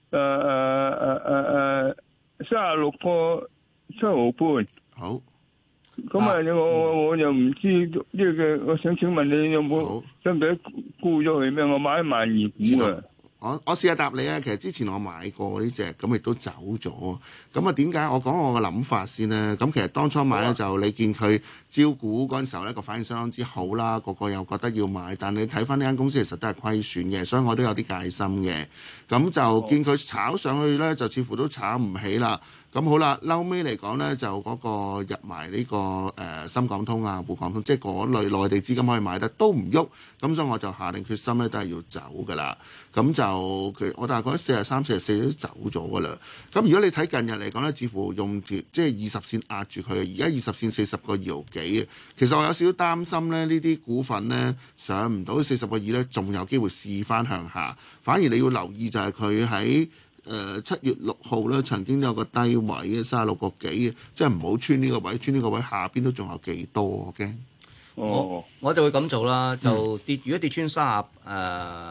誒誒三十六個七毫半。 好。 咁啊，我我就唔知呢個，我想請問你有冇使唔使沽咗佢咩？我買一萬二股啊。 我我試下答你啊，其實之前我買過呢隻，咁亦都走咗。咁啊，點解我講我嘅諗法先呢？咁其實當初買咧就你見佢招股嗰陣時候咧個反應相當之好啦，個個又覺得要買，但你睇翻呢間公司其實都係虧損嘅，所以我都有啲戒心嘅。咁就見佢炒上去咧，就似乎都炒唔起啦。咁好啦，嬲尾嚟講呢，就嗰個入埋呢、這個誒、呃、深港通啊、滬港通，即係嗰類內地資金可以買得都唔喐，咁所以我就下定決心呢，都係要走噶啦。咁就佢我大概四十三、四十四都走咗噶啦。咁如果你睇近日嚟講呢，似乎用條即係二十線壓住佢，而家二十線四十個二毫幾。其實我有少少擔心呢，呢啲股份呢，上唔到四十個二呢，仲有機會試翻向下。反而你要留意就係佢喺誒七月六號咧，曾經有個低位嘅三十六個幾嘅，即係唔好穿呢個位，穿呢個位下邊都仲有幾多，我驚。 我我就會咁做啦，就跌。如果跌穿三十誒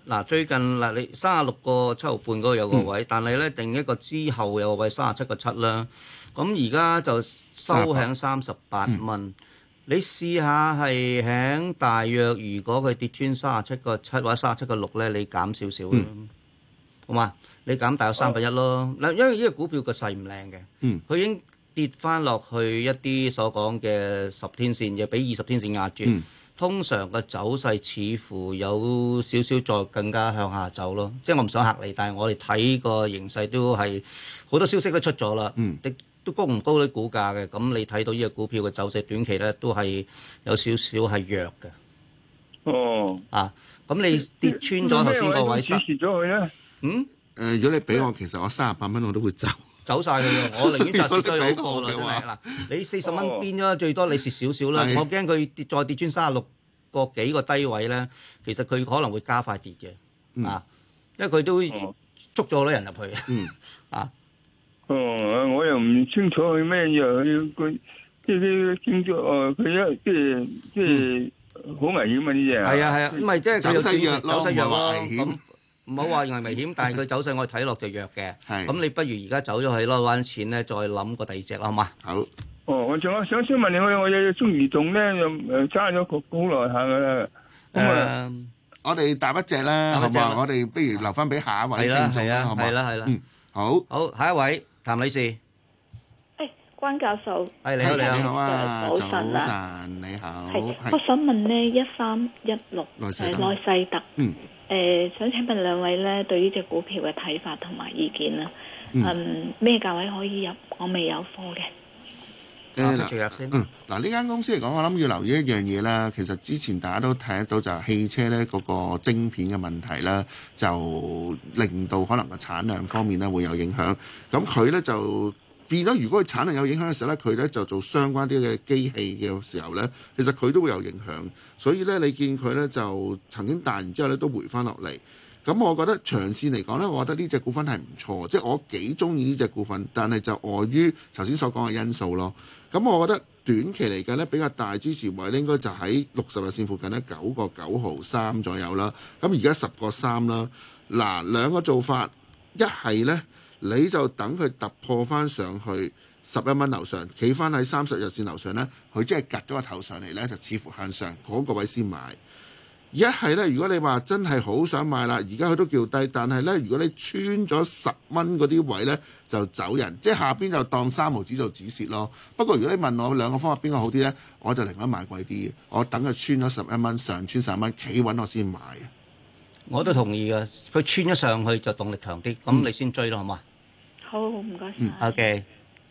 嗱最近嗱你三十六個七毫半嗰個有個位，嗯、但係咧定一個之後有個位三十七個七啦。咁而家就收喺三十八蚊。嗯、你試下係喺大約，如果佢跌穿三十七個七或者三十七個六咧，你減少少咯，嗯、好嘛？你減大約三分一咯。嗱，因為呢個股票個勢唔靚嘅，佢、嗯、已經跌翻落去一啲所講嘅十天線，又俾二十天線壓住。嗯、通常個走勢似乎有少少再更加向下走咯。即係我唔想嚇你，但係我哋睇個形勢都係好多消息都出咗啦。嗯都高唔高啲股價嘅，咁你睇到呢個股票嘅走勢短期咧都係有少少係弱嘅。 哦， 啊，咁你跌穿咗頭先個位， 止蝕咗佢咧？ 嗯？誒、 呃，如果你俾我，其實我三十八蚊我都會走， 走晒佢嘅，我寧願就蝕咗好過啦。嗱，你四十蚊邊咗，最多你蝕少少啦。我驚佢跌再跌穿三十六個幾個低位咧，其實佢可能會加快跌嘅。嗯、啊，因為佢都捉咗好多人入去。嗯。啊。 哦，我又唔清楚佢咩嘢，佢即係啲經濟哦，佢一即係即係好危險啊！呢隻係啊係啊，唔係即係佢有走勢弱咯， 走勢弱咯， 危險。 唔好話認為危險，但係佢走勢我哋睇落就弱嘅。係，咁你不如而家走咗去攞翻錢咧，再諗個第二隻啦，好嘛？ 好。 哦，我仲有想先問你，我我有中移動咧，又誒揸咗個好耐下噶啦。咁啊， 我哋搭一隻啦，好嘛？我哋不如留翻俾下一位聽眾啦，好嘛？ 係啦係啦。 嗯，好。 好，下一位。譚女士， 誒，關教授， 係你好，你好啊， 早晨啊，你好， 係，我想問咧，一三一六誒內世特，嗯，誒，想請問兩位咧，對呢隻股票嘅睇法同埋意見啦，嗯，咩價位可以入？我未有貨嘅。 誒嗱，嗯，嗱呢間公司嚟講，我諗要留意一樣嘢啦。其實之前大家都睇得到，就係汽車咧嗰個晶片嘅問題啦，就令到可能個產量方面咧會有影響。咁佢咧就變咗，如果佢產量有影響嘅時候咧，佢咧就做相關啲嘅機器嘅時候咧，其實佢都會有影響。所以咧，你見佢咧就曾經彈完之後咧都回翻落嚟。咁我覺得長線嚟講咧，我覺得呢隻股份係唔錯，即係我幾中意呢隻股份，但係就礙於頭先所講嘅因素咯。咁我覺得短期嚟講咧，比較大支持位咧，應該就喺六十日線附近咧，九個九毫三左右啦。咁而家十個三啦。嗱，兩個做法，一係咧你就等佢突破翻上去十一蚊樓上，企翻喺三十日線樓上咧，佢即係趌咗個頭上嚟咧，就似乎向上嗰個位先買。一係咧，如果你話真係好想買啦，而家佢都叫低，但係咧，如果你穿咗十蚊嗰啲位咧，就走人，即係下邊就當三毫紙做止蝕咯。不過如果你問我兩個方法邊個好啲咧，我就寧願買貴啲嘅，我等佢穿咗十一蚊，上穿十一蚊，企穩我先買。 我都同意嘅，佢穿咗上去就動力強啲，咁、嗯、你先追咯，好嘛？ 好，唔該晒。 嗯，OK。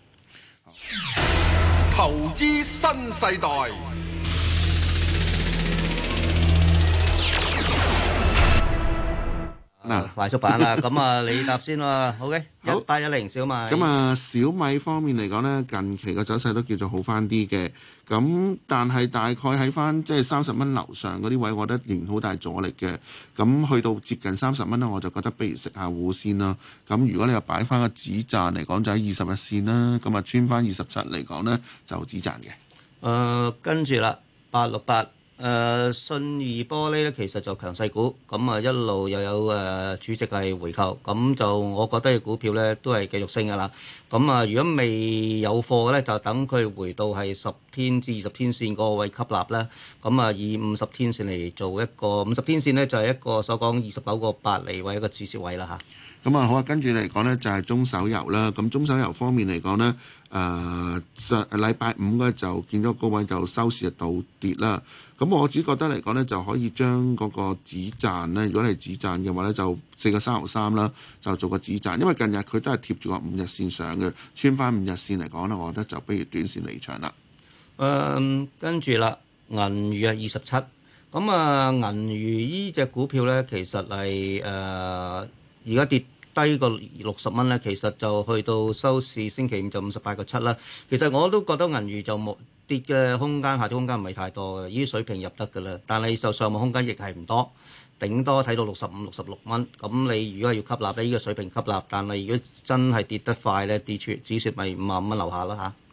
投資新世代。 嗱，快速版啦，咁啊，你答先啦，OK，一八一零小米。 咁啊，小米方面嚟講呢，近期個走勢都叫做好翻啲嘅，咁但係大概喺翻即係三十蚊樓上嗰啲位，我覺得仍然好大阻力嘅。咁去到接近三十蚊呢，我就覺得不如食下糊先啦。咁如果你話擺翻個止賺嚟講，就喺二十日線啦。咁啊，穿翻二十七嚟講呢，就止賺嘅。誒、 呃，跟住啦，八六八。誒、呃、信義玻璃咧，其實就強勢股，咁啊一路又有誒、呃、主席係回購，咁就我覺得嘅股票咧都係繼續升㗎啦。咁啊，如果未有貨嘅咧，就等佢回到係十天至二十天線嗰個位吸納啦。咁啊，以五十天線嚟做一個五十天線咧，就係、是、一個所講二十九個八厘位一個止蝕位啦嚇。 咁啊好啊，跟住嚟講咧就係、是、中手遊啦。咁中手遊方面嚟講咧，誒、呃、上禮拜五咧就見到高位就收市就倒跌啦。咁我只覺得嚟講咧，就可以將嗰個止賺咧，如果你係止賺嘅話咧，就四個三毫三啦，就做個止賺。因為近日佢都係貼住個五日線上嘅，穿翻五日線嚟講咧，我覺得就不如短線離場啦。 誒、嗯，跟住啦，銀娛啊二十七，咁啊銀娛依隻股票咧，其實係誒而家跌低個六十蚊咧，其實就去到收市星期五就五十八個七啦。其實我都覺得銀娛就冇跌嘅空間，下跌空間唔係太多嘅，呢啲水平入得㗎啦。但係就上望空間亦係唔多，頂多睇到六十五、六十六蚊。咁你如果係要吸納咧，呢個水平吸納。但係如果真係跌得快咧，跌出止蝕咪五十五蚊樓下啦嚇。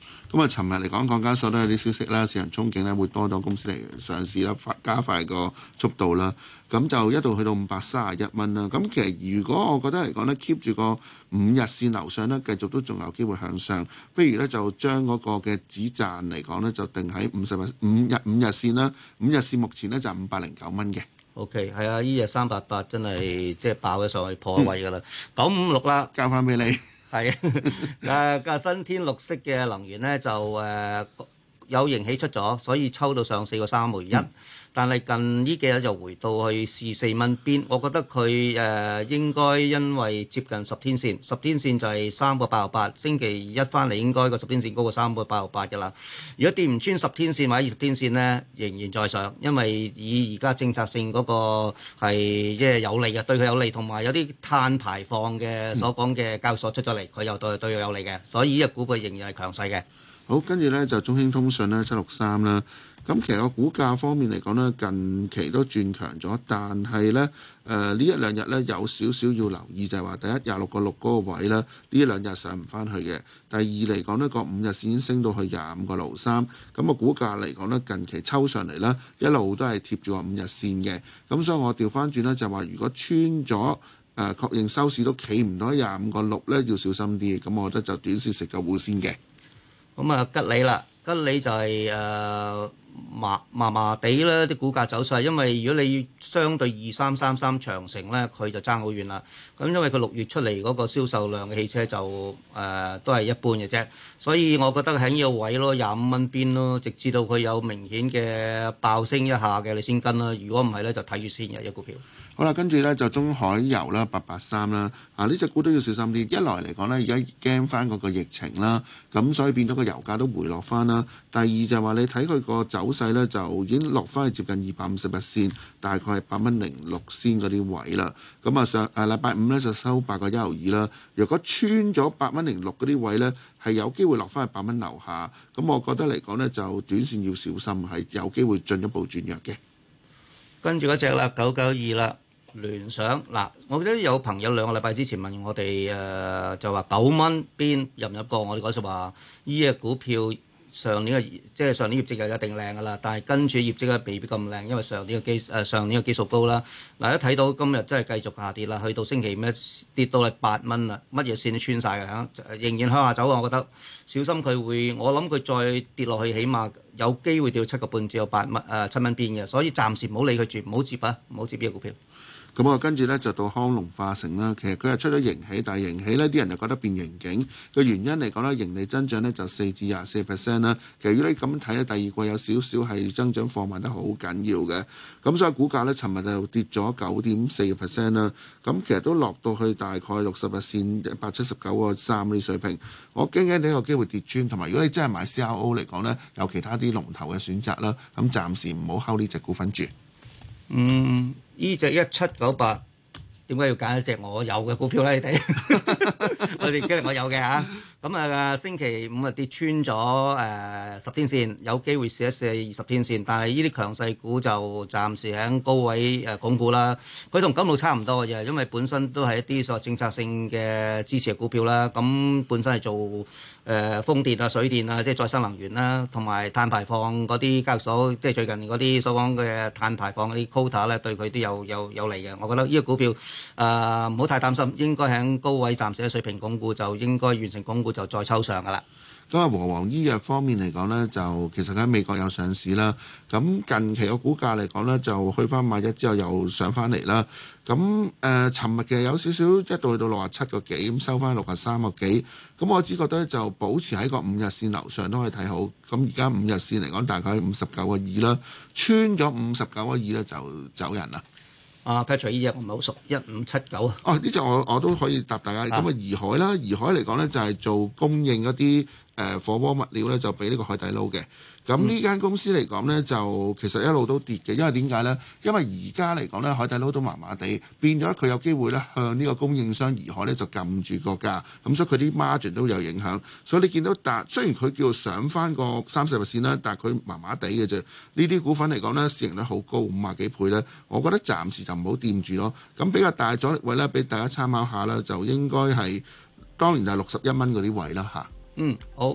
咁啊，尋日嚟講，港交所都有啲消息啦，市場憧憬咧會多咗公司嚟上市啦，加快個速度啦。咁就一度去到五百三十一蚊啦。咁其實如果我覺得嚟講咧 keep 住個五日線樓上咧，繼續都仲有機會向上。不如咧就將嗰個嘅止賺嚟講咧，就定喺五十日五日五日線啦。五日線目前咧就五百零九蚊嘅。 O.K. 係啊，依日三八八真係即係爆咗上去破位㗎啦，九五六啦， 交翻俾你。 係啊，誒新天綠色嘅能源咧就誒、呃、有盈喜出咗，所以抽到上四個三毫一。但係近呢幾日就回到去試四蚊邊，我覺得佢誒、呃、應該因為接近十天線，十天線就係三個八毫八，星期一翻嚟應該個十天線高過三個八毫八㗎啦。如果跌唔穿十天線或者二十天線咧，仍然在上，因為以而家政策性嗰個係即係有利嘅，對佢有利，同埋有啲碳排放嘅所講嘅交易所出咗嚟，佢又對對佢有利嘅，所以呢個股佢仍然係強勢嘅。 好，跟住咧就中興通訊咧七六三啦。咁其實個股價方面嚟講咧，近期都轉強咗，但係咧誒呢一兩日咧有少少要留意，就係話第一廿六個六嗰個位咧，呢一兩日上唔翻去嘅。第二嚟講呢個五日線已經升到去廿五個六三，咁個股價嚟講咧近期抽上嚟咧一路都係貼住個五日線嘅。咁所以我調翻轉咧就話，如果穿咗誒、呃、確認收市都企唔到廿五個六咧，要小心啲。咁我覺得就短線食個糊先嘅。 咁啊吉利啦，吉利就係、是、誒。呃麻麻麻地啦啲股價走勢，因為如果你相對二三三三長城咧，佢就爭好遠啦。咁因為佢六月出嚟嗰個銷售量嘅汽車就誒、呃、都係一般嘅啫，所以我覺得喺呢個位咯，廿五蚊邊咯，直至到佢有明顯嘅爆升一下嘅，你先跟啦。如果唔係咧，就睇住先嘅一股票。 好啦，跟住咧就中海油啦，八八三啦，啊呢隻股都要小心啲。一來嚟講咧，而家驚翻嗰個疫情啦，咁所以變咗個油價都回落翻啦。第二就係話你睇佢個走勢咧，就已經落翻去接近二百五十日線，大概係八蚊零六先嗰啲位啦。咁啊上誒禮拜五咧就收八個一毫二啦。如果穿咗八蚊零六嗰啲位咧，係有機會落翻去八蚊樓下。咁我覺得嚟講咧，就短線要小心，係有機會進一步轉弱嘅。跟住嗰隻啦，九九二啦。聯想嗱，我記得有朋友兩個禮拜之前問我哋誒、呃，就話九蚊邊入唔入過？我哋嗰時話呢隻股票上年嘅即係上年業績就一定靚㗎啦，但係跟住業績咧未必咁靚，因為上年嘅基誒、呃、上年嘅基數高啦。嗱，一睇到今日真係繼續下跌啦，去到星期五咧跌到嚟八蚊啦，乜嘢線都穿晒嘅嚇，仍然向下走啊！我覺得小心佢會，我諗佢再跌落去，起碼有機會跌到七個半至到八蚊誒七蚊邊嘅，所以暫時唔好理佢住，唔好接啊，唔好接呢個股票。咁啊，跟住咧就到康龍化成啦。其實佢係出咗盈喜，但係盈喜呢啲人就覺得變盈警嘅原因嚟講咧，盈利增長咧就四至廿四 percent 啦。其實如果你咁睇咧，第二季有少少係增長放慢得好緊要嘅。咁所以股價咧，尋日就跌咗九點四個 percent 啦。咁其實都落到去大概六十日線一百七十九個三呢啲水平。我驚驚呢個機會跌穿，同埋如果你真係買 C R O 嚟講咧，有其他啲龍頭嘅選擇啦。咁暫時唔好睺呢隻股份住。 嗯。呢隻一七九八，點解要揀一隻我有嘅股票咧？你睇，我哋今日我有嘅嚇，咁啊星期五啊跌穿咗誒十天線，有機會試一試二十天線，但係呢啲強勢股就暫時喺高位誒鞏固啦。佢同金路差唔多嘅啫，因為本身都係一啲所謂政策性嘅支持嘅股票啦。咁本身係做誒風電啊、水電啊，即係再生能源啦，同埋碳排放嗰啲交易所，即係最近嗰啲所講嘅碳排放嗰啲 quota 咧，對佢都有有有利嘅。我覺得呢個股票誒唔好太擔心，應該喺高位暫時嘅水平鞏固，就應該完成鞏固就再抽上噶啦。咁啊，和黃醫藥方面嚟講呢，就其實喺美國有上市啦。咁近期個股價嚟講呢，就去翻買一之後又上翻嚟啦。咁誒，尋、呃、日嘅有少少一度去到六十七個幾，咁收翻六十三個幾。咁我只覺得就保持喺個五日線樓上都可以睇好。咁而家五日線嚟講，大概五十九個二啦，穿咗五十九個二咧就走人啦。啊 Patrick 呢隻我唔係好熟，一五七九啊。哦，呢隻我我都可以答大家。咁啊，怡海啦，怡海嚟講咧就係、是、做供應一啲誒火鍋物料咧，就俾呢個海底撈嘅。咁呢間公司嚟講咧，就其實一路都跌嘅，因為點解咧？因為而家嚟講咧，海底撈都麻麻地，變咗佢有機會咧向呢個供應商怡海咧就撳住個價，咁所以佢啲 margin 都有影響。所以你見到但雖然佢叫上翻個三十日線啦，但係佢麻麻地嘅啫。呢啲股份嚟講咧，市盈率好高，五十幾倍咧，我覺得暫時就唔好掂住咯。咁比較大阻力位咧，俾大家參考下啦，就應該係當然就係六十一蚊嗰啲位啦嚇。嗯，好。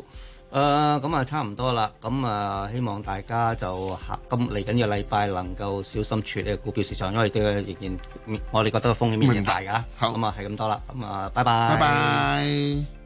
誒咁啊，差唔多啦。咁啊，希望大家就下今嚟緊嘅禮拜能夠小心處理股票市場，因為對仍然我哋覺得風險仍然大㗎。好，咁啊，係咁多啦。咁啊，拜拜。 拜拜。